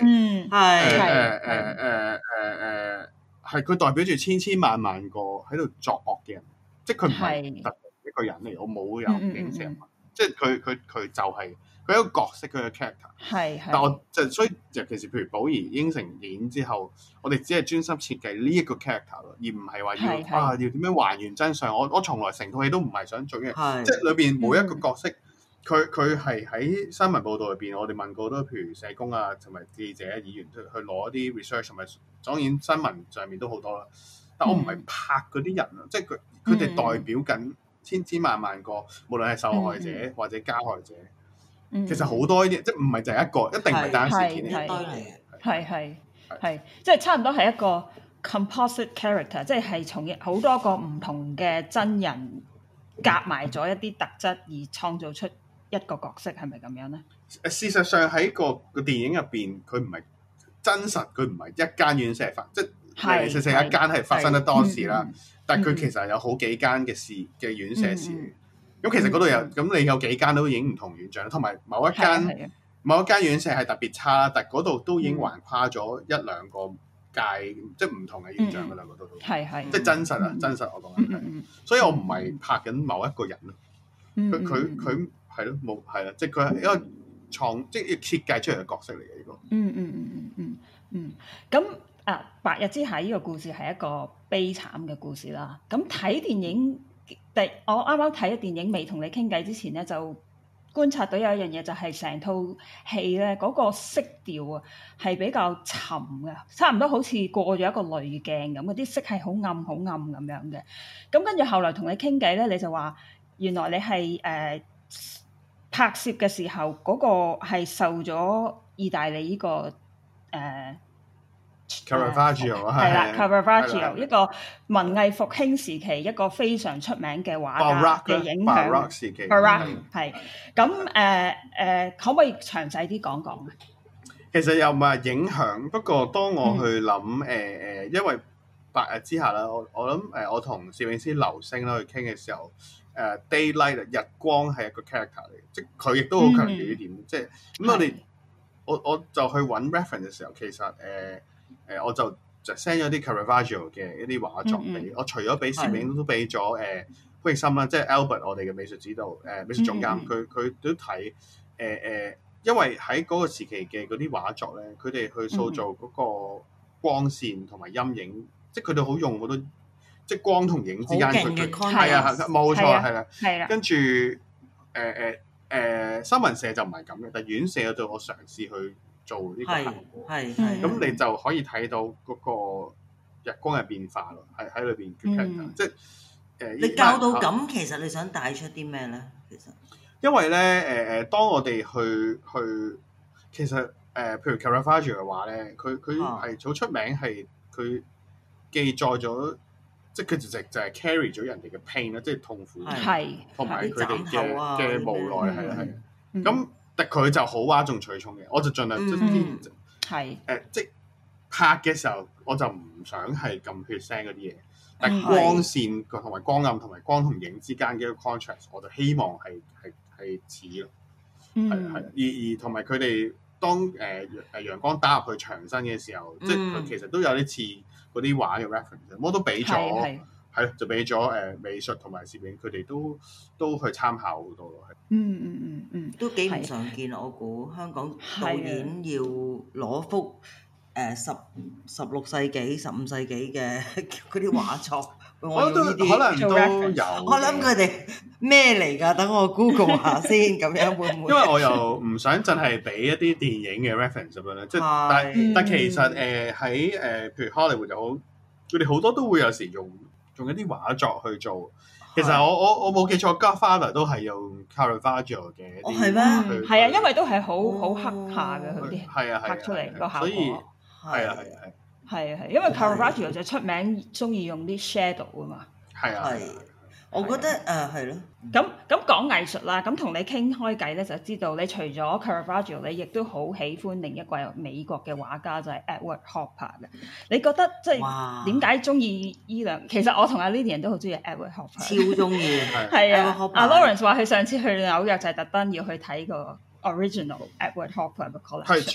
係佢代表住千萬個喺度作惡嘅人，即係佢唔係特別一個人嚟，我冇有影射人物，即係佢就係佢一個角色，佢嘅 character。但我就所以尤其是譬如寶儀應承演之後，我哋只係專心設計呢一個 character 咯，而唔係話要點樣還原真相。我從來成套戲都唔係想做嘅，即係裏邊每一個角色，佢係喺新聞報導入邊，我哋問過好多譬如社工啊，同埋記者、議員去攞一啲 research，同埋當然新聞上面都好多啦。但我唔係拍嗰啲人啊，即係佢哋代表緊千萬個，無論係受害者或者加害者。其實好多呢啲，即係唔係就係一個，一定唔係單事件，一堆嚟嘅。 係，即係差唔多係一個 composite character，即係從好多個唔同嘅真人夾埋咗一啲特質而創造出一個角色，係咪咁樣咧？ 事實上喺個電影入邊，佢唔係真實，佢唔係一間院舍發，即係零零舍一間係發生得多事啦。但係佢其實有好幾間嘅院舍事。咁其實嗰度有，咁你有幾間都影唔同院長，同埋某一間院舍係特別差，但係嗰度都已經橫跨咗一兩個界，即係唔同嘅院長嗰兩個都，即係真實啊！真實我講緊，所以我唔係拍緊某一個人咯。佢係咯冇係啦，即係佢係因為即係設計出嚟嘅角色嚟嘅呢個。 咁白日之下呢個故事係一個悲慘嘅故事啦。咁睇電影，我啱啱睇咗電影未同你傾偈之前咧，就觀察到有一樣嘢，就係成套戲咧嗰個色調啊係比較沉嘅，差唔多好似過咗一個濾鏡咁，嗰啲色係好暗好暗咁樣嘅。咁跟住後來同你傾偈咧，你就話原來你係拍攝嘅時候嗰個係受咗意大利呢個 Caravaggio 係啦 Caravaggio 一個文藝復興時期一個非常出名嘅畫家嘅影響。 Baroque 時期。 Baroque 係咁可唔可以詳細啲講講啊？ 其實又唔係影響，不過當我去諗因為白日之下啦，我諗我同攝影師劉星啦去傾嘅時候，daylight 日光係一個 character 嚟嘅，即係佢亦都好強調呢點。即係咁我就去揾 reference 嘅時候，其實我就 send 咗啲 Caravaggio 嘅一啲畫作俾我，除咗俾攝影都俾咗潘奕森啦，即係 Albert 我哋嘅美術指導美術總監，佢都睇因為喺嗰個時期嘅嗰啲畫作咧，佢哋去塑造嗰個光線同埋陰影，即係佢哋好用好多即係光同影之間佢係啊冇錯係啦，跟住新聞社就唔係咁嘅，但係院社度我嘗試去做呢個效果，咁你就可以睇到嗰個日光嘅變化咯，喺裏邊嘅即係你教到咁，其實你想帶出啲咩咧？其實因為咧當我哋去其實譬如 Caravaggio 嘅話咧，佢係好出名，係佢記載咗，即係佢就係 carry 咗人哋嘅 pain 啦，即係痛苦，同埋佢哋嘅無奈係。咁但佢就好嘩眾取寵嘅，我就盡量即係拍嘅時候，我就唔想係咁血腥嗰啲嘢，但係光線同埋光暗同埋光同影之間嘅一個 contrast， 我就希望係似咯，係而同埋佢哋當陽光打入去牆身嘅時候，即係佢其實都有啲似嗰啲畫嘅 reference， 我都俾咗係就俾咗美術同埋攝影，佢哋都去參考好多咯， 都幾唔常見。我估香港導演要攞幅16世紀、15世紀嘅嗰啲畫作，我都可能都有。 我諗佢哋咩嚟㗎？等我 Google 下先，咁樣會唔會？ 因為我又唔想真係俾一啲電影嘅 reference 咁樣咧，即係但其實喺譬如 Hollywood 就好，佢哋好多都會有時用一啲畫作去做。其實我冇記錯 Godfather 都係用 Caravaggio 嘅。 係咩？ 係啊，因為都係好黑下嘅佢啲拍出嚟個效果。 所以係， 因為 Caravaggio 就出名中意用啲 shadow 啊嘛。 係，我覺得係咯。 咁講藝術啦，咁同你傾開偈咧，就知道你除咗 Caravaggio， 你亦都好喜歡另一個美國嘅畫家就係 Edward Hopper 嘅。你覺得即係點解中意依兩？其實我同阿 Lilian 都好中意 Edward Hopper， 超中意。 係啊，阿 Lawrence 話佢上次去紐約就係特登要去睇個 original Edward Hopper 嘅 collection。 係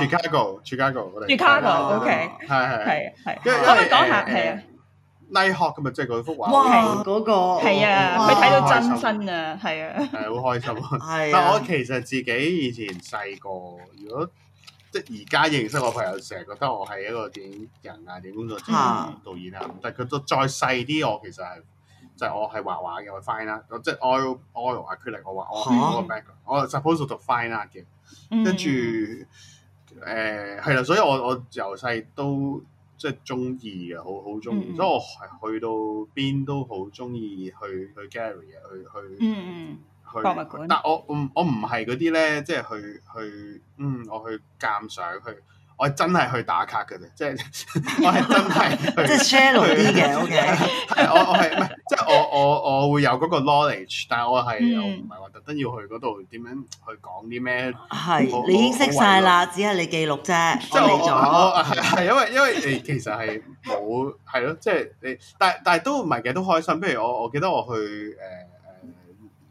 Chicago 我哋。 Chicago，OK，係。可唔可以講下？係啊。 Nighthawk 咁啊，即係嗰幅畫。 哇！嗰個係啊，佢睇到真身啊，係啊。 係好開心啊！但我其實自己以前細個，如果即係而家認識我朋友，成日覺得我係一個電影人啊、電影工作者、導演啊。但係佢都再細啲，我其實係就係我係畫畫嘅，我 fine art，即係 oil acrylic，我畫我嗰個 background，我 suppose 讀 fine art 嘅。跟住係啦，所以我由細都即係中意嘅，好中意，所以我係去到邊都好中意去 gallery 啊，去博物館。 但我唔係嗰啲咧，即係去我去鑑賞去，我係真係去打卡嘅啫，即係我係真係即係 shallow 啲嘅，OK。 係我係唔係即係我會有嗰個 knowledge， 但係我唔係話特登要去嗰度點樣去講啲咩。 係你已經識晒啦，只係你記錄啫。 即係我係因為你其實係冇係咯，即係你但係都唔係嘅，都開心。譬如我記得我去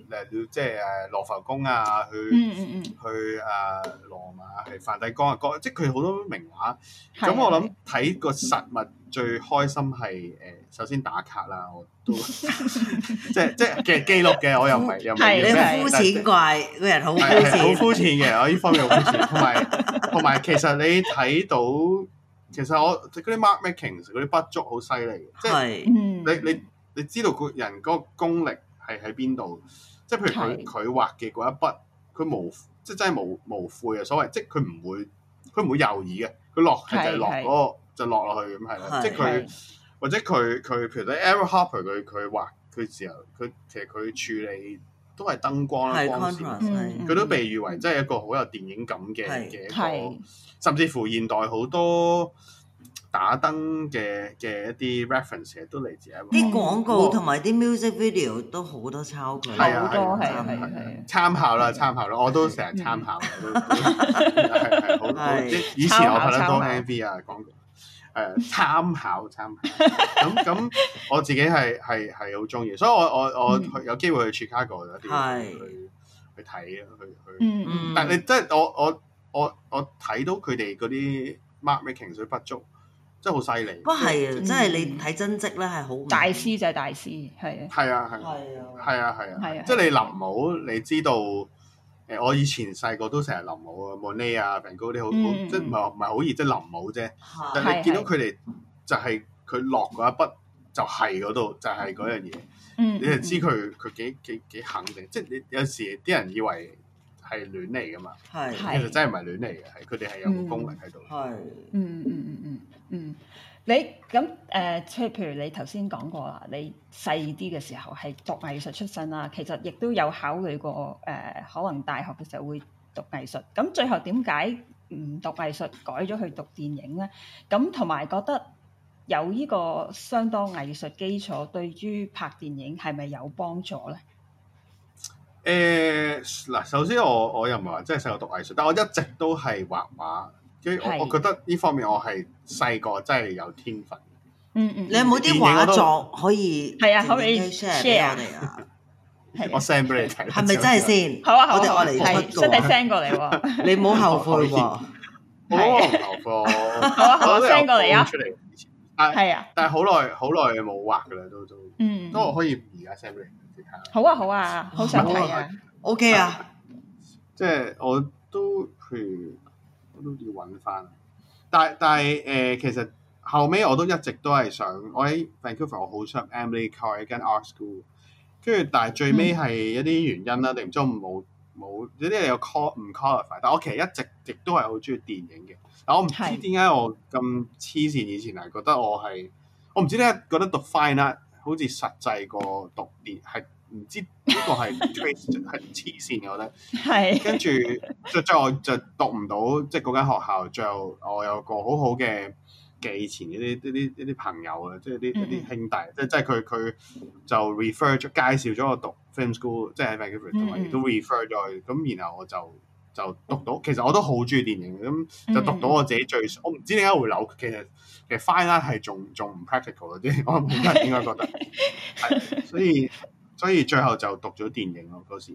即係羅浮宮啊，去羅馬係梵蒂岡啊，即係佢好多名畫。咁我諗睇個實物最開心係首先打卡啦，我都即係記錄嘅，我又唔係你膚淺怪個人好膚淺， 好膚淺嘅，我呢方面好膚淺，同埋其實你睇到。其實我嗰啲 mark making 嗰啲筆觸好犀利，即係你知道個人嗰個功力係喺邊度？即係譬如佢畫嘅嗰一筆，佢即係真係無悔啊！所謂即係佢唔會猶豫嘅，佢落係就係落嗰個就落落去咁係啦。即係佢或者佢譬如咧 Eric Hopper 佢畫佢時候，其實佢處理都係燈光啦、光線，佢都被譽為真係一個好有電影感嘅一個。甚至乎現代好多打燈嘅一啲 reference 都嚟自啲廣告同埋啲 music video 都好多抄佢， 好多係參考啦，我都成日參考，係好以前我拍得多 MV 啊廣告，參考，咁我自己係好中意，所以我有機會去 Chicago 有啲去睇啊，但係你即係我睇到佢哋嗰啲 mark making 水筆觸，真係好犀利。 不過係啊，真係你睇真跡咧係好大師就係大師，係啊，即係你臨摹，你知道我以前細個都成日臨摹啊 Monet 啊 Van Gogh 啲好，即係唔係好易，即係臨摹啫。但係你見到佢哋就係佢落嗰一筆就係嗰度，就係嗰樣嘢。你就知佢幾肯定，即係你有時啲人以為係亂嚟噶嘛，其實真係唔係亂嚟嘅，係佢哋係有個功力喺度。 你咁即係譬如你頭先講過啦，你細啲嘅時候係讀藝術出身啦，其實亦都有考慮過可能大學嘅時候會讀藝術。咁最後點解唔讀藝術，改咗去讀電影咧？咁同埋覺得有呢個相當藝術基礎，對於拍電影係咪有幫助咧？ 嗱，首先我又唔係話真係細個讀藝術，但我一直都係畫畫，我覺得呢方面我係細個真係有天分。 你有冇啲畫作可以可以 share 俾我哋啊？ 我 send 俾你睇， 係咪真係先？ 好啊， 我哋嚟出真係 send 過嚟喎， 你唔好後悔喎。 我唔後悔。 好啊，我 send 過嚟啊。 但係好耐冇畫噶啦，都我可以而家 send 俾你。 好啊，好想睇啊 ！OK 啊， 即係我都譬如我都要揾翻，但係其實後尾我都一直都係想，我喺 Vancouver 我好想 Emily Carr 一間 art school， 跟住但係最尾係一啲原因啦，定唔知我冇有啲有 唔 qualify， 但我其實一直亦都係好中意電影嘅，但我唔知點解我咁黐線，以前係覺得我唔知點解覺得讀 fine art 好似實際過讀電係。唔知呢個係 trace 係黐線嘅，我覺得係。跟住最後我就讀唔到，即係嗰間學校。最後我有個好好嘅以前嗰啲朋友啊，即係啲兄弟，即係佢就 refer 咗介紹咗我讀 film school， 即係喺 Vancouver 同埋亦都 refer 咗去。咁然後我就讀到，其實我都好中意電影，咁就讀到我自己最，我唔知點解會扭。其實 fine art 係仲唔 practical 嗰啲，我冇人應該覺得係，所以最後就讀咗電影咯嗰時。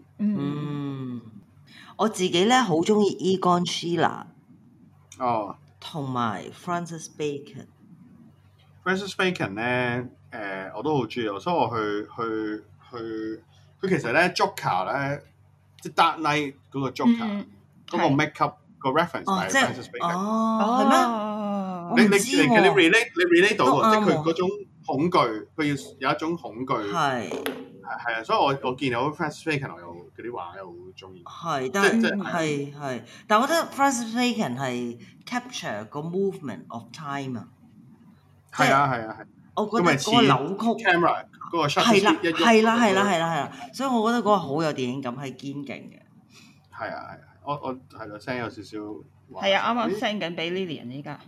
我自己咧好中意 Egon Schiele 同埋 Francis Bacon。Francis Bacon 咧，我都好中意，所以我去佢其實咧 Joker 咧，即係 Dark Knight 嗰個 Joker 嗰個 make up 個 reference 係 Francis Bacon。 係咩？ 你 relate 到喎，即係佢嗰種恐懼，佢要有一種恐懼。係啊，所以我見到 Francis Bacon 我有嗰啲畫又好中意。 係，但係，但我覺得 Francis Bacon 係 capture 個 movement of time 啊。 係啊， 我覺得嗰個扭曲 camera 嗰個 shot 係啦，所以我覺得嗰個好有電影感，係堅勁嘅。 係啊，我係咯 send 有少少。 係啊，啱啱 send 緊俾 Lilian 依家。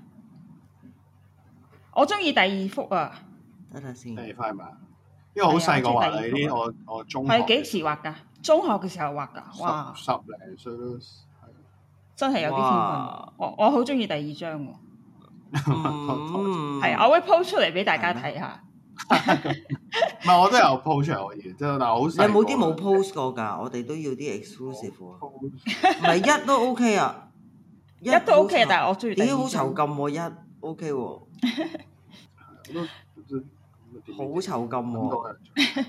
我中意第二幅啊。 等陣先。 第二幅係嘛？因為好細個畫你啲，我中學係幾時畫㗎？中學嘅時候畫㗎，哇！ 十零歲都係， 真係有啲天分。我好中意第二張喎。係，我會 post 出嚟俾大家睇下。 唔係我都有 post 可以，即係但係好細。 你有冇啲冇 post 過㗎？我哋都要啲 exclusive 喎。唔係一都 OK 啊， 一都 OK 啊，但係我中意第二點解好張囚禁喎？一 OK 喎，好囚禁喎。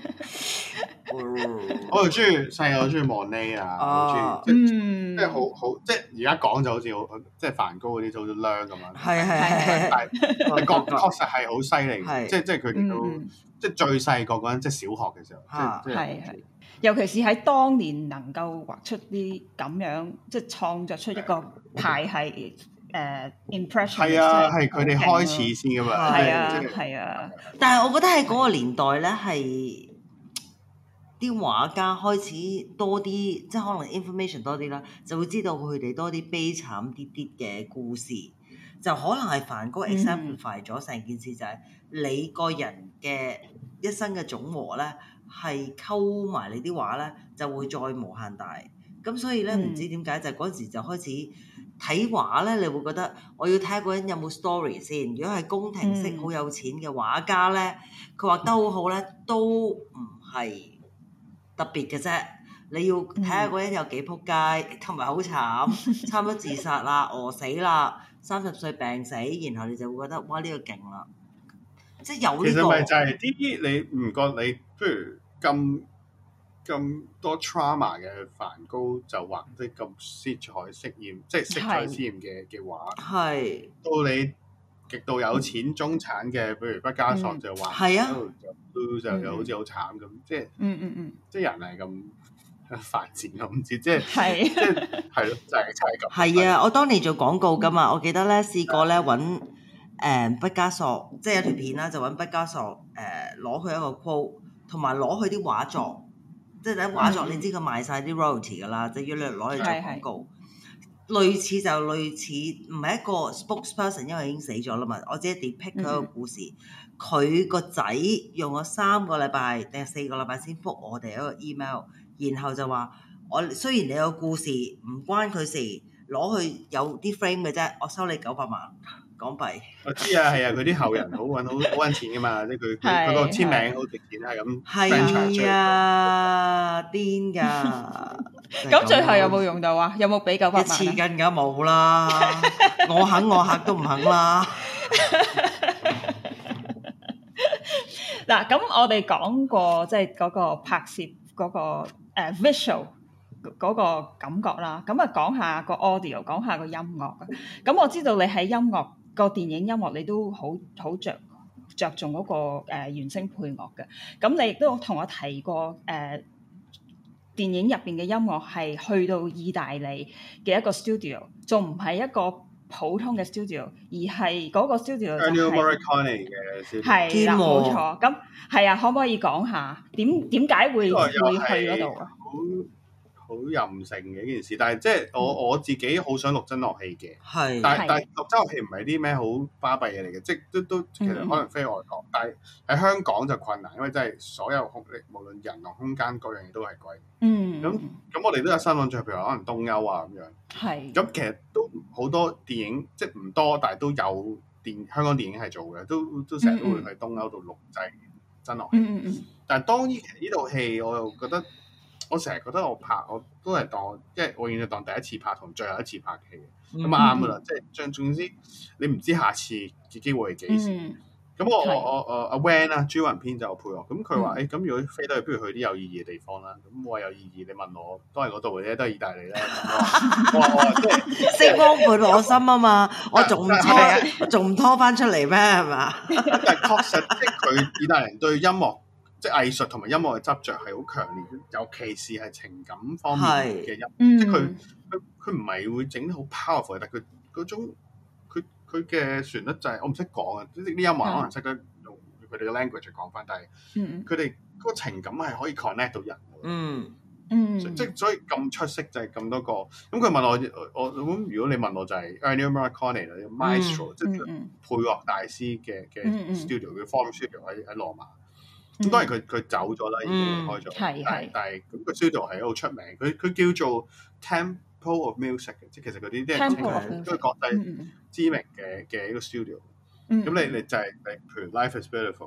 我又中意細個，我中意 Monet 啊，好中意即係好即係而家講就好似好即係梵高嗰啲就好似靚咁樣。 係， 但係確實係好犀利，即係佢哋都即係最細個嗰陣，即係小學嘅時候， 係，尤其是喺當年能夠畫出啲咁樣，即係創作出一個派系impression。 係啊，係佢哋開始先㗎嘛。 係啊。 但係我覺得喺嗰個年代咧，係啲畫家開始多啲，即係可能 information 多啲啦，就會知道佢哋多啲悲慘啲嘅故事，就可能係梵高 exemplify 咗成件事，就係你個人嘅一生嘅總和咧，係溝埋你啲畫咧，就會再無限大。咁所以咧，唔知點解就嗰陣時就開始睇畫咧，你會覺得我要睇下嗰人有冇 story 先。如果係宮廷式好有錢嘅畫家咧，佢畫得好好咧，都唔係特別嘅啫。你要睇下嗰人有幾撲街，同埋好慘，差唔多自殺啦、餓死啦、30歲病死，然後你就會覺得哇呢個勁啦，即係有呢個。 其實咪就係啲你唔覺你，譬如咁多 trauma 嘅梵高就畫啲咁色彩鮮豔，即係色彩鮮豔嘅畫。 係。 到你極度有錢中產嘅，譬如畢加索就畫， 係啊， 就好似好慘咁，即係即係人係咁發展，我唔知，即係係咯，就係咁。 係啊，我當年做廣告㗎嘛，我記得咧試過咧揾畢加索，即係有條片啦，就揾畢加索攞佢一個 quote，同埋攞佢啲畫作。即係睇畫作，你知佢賣晒啲 royalty 㗎啦，即係要攞嚟做廣告。類似就類似，唔係一個 spokesperson，因為已經死咗啦嘛。我只係 depict 佢個故事。佢個仔用咗3個禮拜定係4個禮拜先覆我哋一個 email，然後就話我雖然你個故事唔關佢事，攞去有啲 frame 嘅啫，我收你900萬港幣。 我知啊，係啊，佢啲後人好揾錢噶嘛，即係佢個簽名好值錢，係咁。 係啊，癲㗎！ 咁最後有冇用到啊？有冇俾900萬？ 一次更加冇啦，我客都唔肯啦。 嗱，咁我哋講過即係嗰個拍攝嗰個visual 嗰個感覺啦，咁啊講下個 audio， 講下個音樂啊。咁我知道你喺音樂個電影音樂你都好着重嗰個原聲配樂嘅。咁你亦都同我提過電影入邊嘅音樂係去到意大利嘅一個 studio， 仲唔係一個普通嘅 studio， 而係嗰個 studio 就係 Ennio Morricone 嘅 studio。 係啦，冇錯。咁係啊，可唔可以講下點解會去嗰度啊？ 好任性嘅一件事，但係即係我自己好想錄真樂戲嘅，但係錄真樂戲唔係啲咩好巴閉嘢嚟嘅，即係都其實可能飛外國，但係喺香港就困難，因為真係所有空力無論人同空間各樣嘢都係貴。咁我哋都有新揾著，譬如可能東歐啊咁樣。係。咁其實都好多電影，即係唔多，但係都有香港電影係做嘅，都成日都會去東歐度錄製真樂戲。但係當呢套戲，我又覺得。我成日覺得我都係當，即係我永遠當第一次拍同最後一次拍嘅戲，咁啱噶啦。即係總之，你唔知下次嘅機會係幾時。咁我阿 Van 啊，朱雲編就配樂。咁佢話：咁如果飛得去，不如去啲有意義嘅地方啦。咁我話有意義，你問我都係嗰度嘅啫，都係意大利啦。我話即係星光伴我心啊嘛，我仲唔拖翻出嚟咩？係嘛？ 但係確實，即係佢意大利人對音樂。即係藝術同埋音樂嘅執着係好強烈，尤其是係情感方面嘅音，即係佢唔係會整得好 powerful，但係佢嗰種佢嘅旋律就係我唔識講啊！啲音樂可能識得用佢哋嘅 language 去講翻，但係佢哋嗰個情感係可以 connect 到人。即係所以咁出色就係咁多個。咁佢問我咁如果你問我就係 Ennio Morricone 啦，Maestro 即係配樂大師嘅 studio 嘅 Form Studio 喺羅馬。咁當然佢走咗啦，已經離開咗。但係咁個 studio 係好出名，佢叫做 Temple of Music 嘅，即係其實嗰啲人稱佢都係國際知名嘅一個 studio。咁你就係譬如 Life is Beautiful 啊，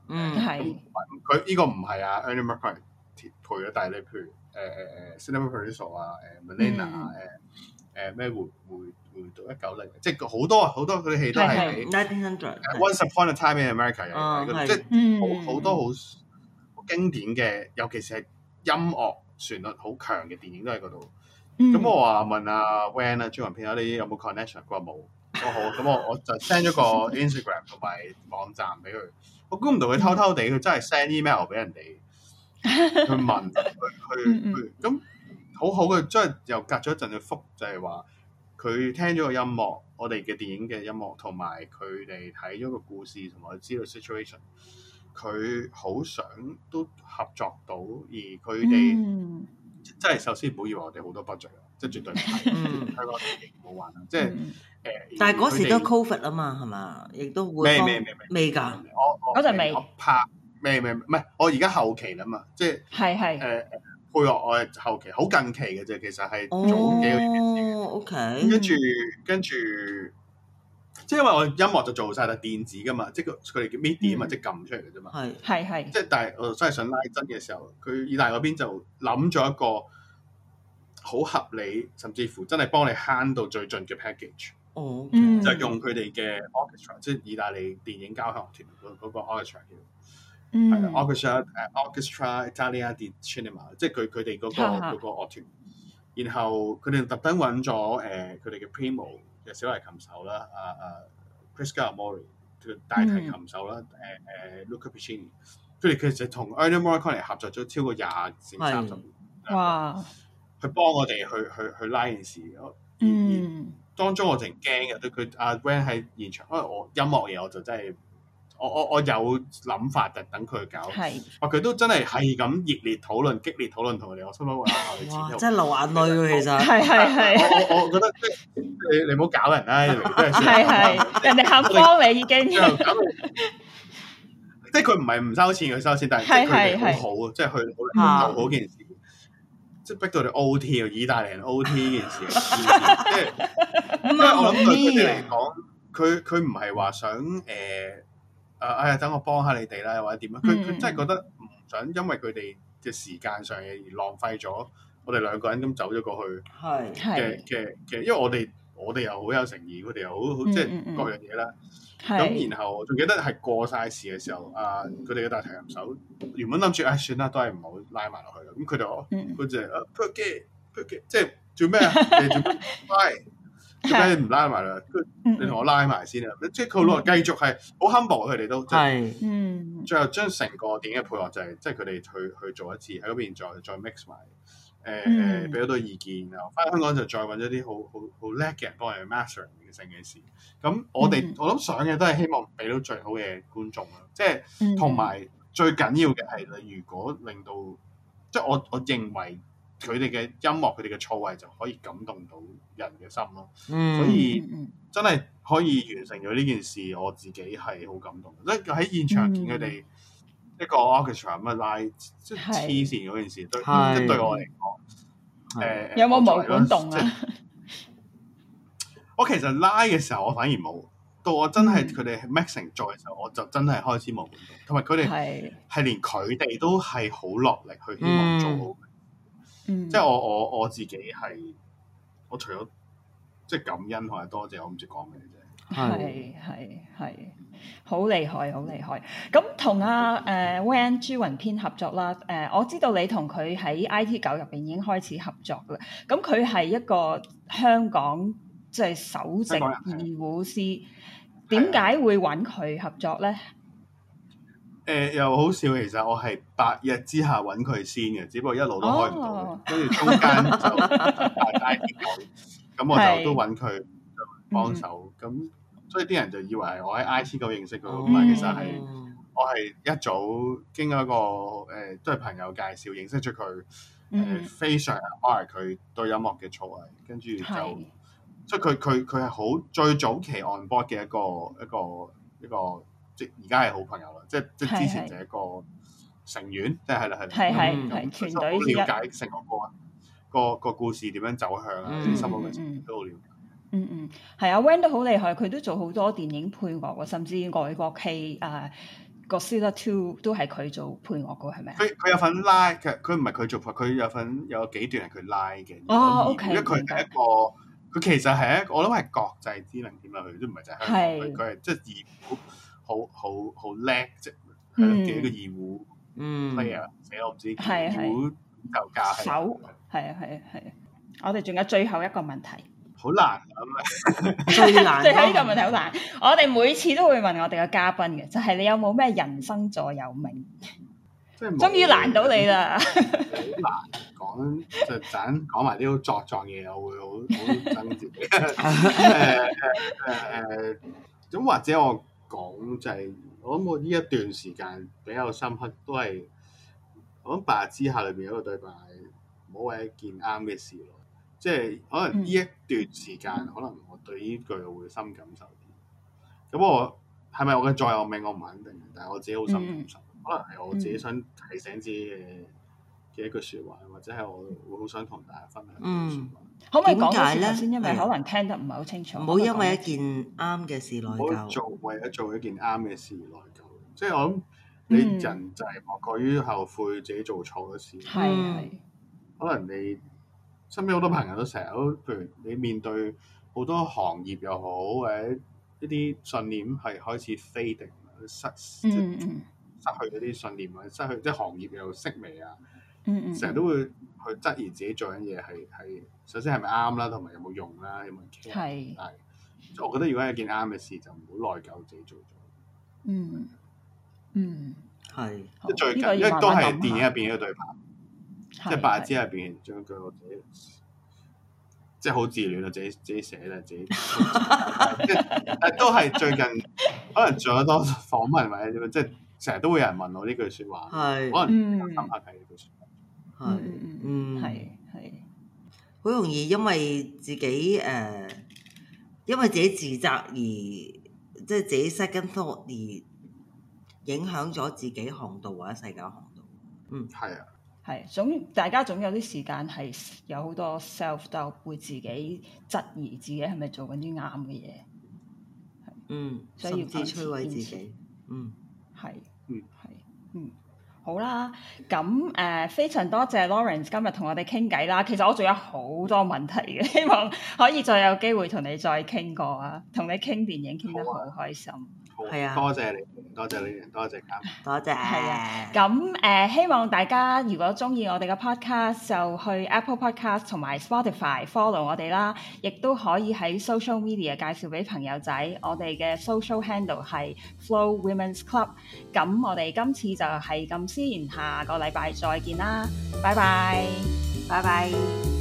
係佢呢個唔係啊 Ennio Morricone 配嘅，但係你譬如Cinema Paradiso 啊、Melina 啊、咩回到190，即係好多嗰啲戲都係俾 Once Upon a Time in America 即係好多好經典嘅，尤其是係音樂旋律好強嘅電影都喺嗰度。咁我話問阿 Van 啊朱雲片你有冇 connection？ 佢話冇。好，咁我就 send 咗個 Instagram 同埋網站俾佢。我估唔到佢偷偷地，佢真係 send email 俾人哋去問佢咁好好嘅，即係又隔咗一陣去覆，就係話佢聽咗個音樂，我哋嘅電影嘅音樂，同埋佢哋睇咗個故事，同埋知道 situation， 佢好想都合作到，而佢哋即係首先唔好以為我哋好多 budget，即係絕對唔係香港電影唔好玩啦，即係。 但係嗰時都 COVID 啊嘛，係嘛？亦都會未㗎。 嗰陣未。 我拍未唔係，我而家後期啦嘛，即係配樂我係後期，好近期嘅啫。其實係早幾個月嘅事。 OK。 跟住，即係因為我音樂就做晒啦，電子㗎嘛，即係佢哋叫 MIDI 啊嘛，即係撳出嚟嘅啫嘛。 係。 即係但係我真係想拉真嘅時候，佢意大嗰邊就諗咗一個好合理，甚至乎真係幫你慳到最盡嘅 package。就用佢哋嘅 orchestra， 即係意大利電影交響樂團嗰個 orchestra 叫，係啦 orchestra Italia di Cinema， 即係佢哋嗰個樂團。然後佢哋特登揾咗佢哋嘅 primo 嘅小提琴手啦，Prisca Amori 嘅大提琴手啦，Luca Piccini， 佢哋其實同 Ennio Morricone 合作咗超過20至30年。 哇！ 去幫我哋去拉件事。當中我淨驚嘅，對佢阿 Van 喺現場，因為我音樂嘢我就真係我有諗法嘅，等佢搞。佢都真係咁熱烈討論、激烈討論同佢哋，我心諗哇！ 真係流眼淚喎，其實。 係。 我覺得你唔好搞人啦， 係人哋肯幫你已經。 即係佢唔係唔收錢，佢收錢，但係佢哋好好，即係去做好件事。即係逼到你 OT 啊！意大利人 OT 呢件事，即係因為我諗對佢哋嚟講，佢唔係話想等我幫下你哋啦，或者點樣？佢真係覺得唔想因為佢哋嘅時間上而浪費咗我哋兩個人咁走咗過去嘅，因為我哋又好有誠意，佢哋又好即係各樣嘢啦。咁然後仲記得係過晒時嘅時候，佢哋嘅大提琴手原本諗住算啦，都係唔好拉埋落去啦。咁佢哋話佢就perché 即係做咩啊？你做咩拉？做咩唔拉埋啦？你同我拉埋先啊！即係佢落繼續係好 humble，佢哋都最後將成個電影嘅配樂就係即係佢哋去做一次喺嗰邊再 mix 埋。俾咗多意見，然後翻香港就再揾咗啲好叻嘅人幫我哋 mastering 嘅成件事。咁我諗想嘅都係希望俾到最好嘅觀眾啦，即係同埋最緊要嘅係你如果令到，即係我認為佢哋嘅音樂佢哋嘅錯位就可以感動到人嘅心咯。所以真係可以完成咗呢件事，我自己係好感動。即係喺現場見佢哋。一個 orchestra 咁拉，即係黐線嗰件事，即係對我嚟講， 有冇毛管動啊？ 我其實拉嘅時候，我反而冇。到我真係佢哋 mixing 做嘅時候，我就真係開始毛管動。同埋佢哋係連佢哋都係好落力去希望做好。即係我自己係，我除咗即係感恩同埋多謝，我唔知講咩啫。 係，好厲害，好厲害。咁同阿Van 朱雲編合作啦。我知道你同佢喺 IT9入邊已經開始合作啦。咁佢係一個香港即係首席二胡師，點解會揾佢合作咧？ 又好笑，其實我係白日之下揾佢先嘅，只不過一路都開唔到，跟住中間就IT9，咁我就都揾佢幫手咁。所以啲人就以為係我喺 IT9認識佢，咁但其實係我係一早經過一個都係朋友介紹認識咗佢，非常 admire 佢對音樂嘅造詣，跟住就所以佢係好最早期 on board 嘅一個即係而家係好朋友啦，即係之前就係一個成員，即係係團隊之一， 了解成個故事點樣走向啊，啲心路歷程都好了解。 係啊 Van 都好厲害，佢都做好多電影配樂喎，甚至外國戲 Godzilla 2都係佢做配樂嘅係咪啊？ 佢有份拉，佢唔係佢做，佢有幾段係佢拉嘅。 哦，OK， 因為佢係一個，佢其實係一個，我諗係國際知名點啊，佢都唔係就係香港，佢係即係二胡好叻，即係嘅一個二胡 player，我唔知二胡就教手，係啊，我哋仲有最後一個問題。 好難咁最難。 最後呢個問題好難，我哋每次都會問我哋嘅嘉賓嘅，就係你有冇咩人生座右銘？終於難到你啦！ 好難講，就陣講埋啲好作狀嘢，我會好憎自己。咁或者我講就係，我諗我呢一段時間比較深刻，都係我諗《白日之下》裏邊有一個對白，唔好為一件啱嘅事咯。即係可能呢一段時間，可能我對呢句會深感受啲。咁我係咪我嘅座右銘？我唔肯定，但係我自己好深感受。可能係我自己想提醒自己嘅一句説話，或者係我會好想同大家分享嘅説話。 可唔可以講多次頭先？因為可能聽得唔係好清楚。 唔好因為一件啱嘅事內疚。 唔好為咗做一件啱嘅事內疚。即係我諗你人就係莫過於後悔自己做錯嘅事。 係可能你身邊好多朋友都成日都，譬如你面對好多行業又好，或者一啲信念係開始 fading 失去嗰啲信念，或者失去即係行業又式微啊，成日都會去質疑自己做緊嘢係首先係咪啱啦，同埋有冇用啦，有冇人 care？係，但係我覺得如果係一件啱嘅事，就唔好內疚自己做咗。 係。 即係最近，因為都係電影入邊一個對白，即係《白日之下》入邊將句我自己，即係好自戀啊，自己寫啦，自己，但都係最近可能做咗多訪問或者點樣，即係。成日都會有人問我呢句説話，可能深刻係呢句説話。 係好容易因為自己因為自己自責而即係自己 second thought 而影響咗自己航道或者世界航道。 係啊， 係大家總有啲時間係有好多 self doubt，會自己質疑自己係咪做緊啲啱嘅嘢。 所以甚至摧毀自己。 好啦，咁非常多謝 Lawrence 今日同我哋傾偈啦。其實我仲有好多問題嘅，希望可以再有機會同你再傾過啊。同你傾電影傾得好開心。 係啊， 多謝你，多謝你，多謝多謝。 係啊，咁希望大家如果中意我哋嘅 podcast，就去 Apple Podcast 同埋 Spotify follow 我哋啦，亦都可以喺 social media 介紹俾朋友仔。我哋嘅 social handle 係 Flo Women's Club。咁我哋今次就係咁先，下個禮拜再見啦，拜拜， 拜拜。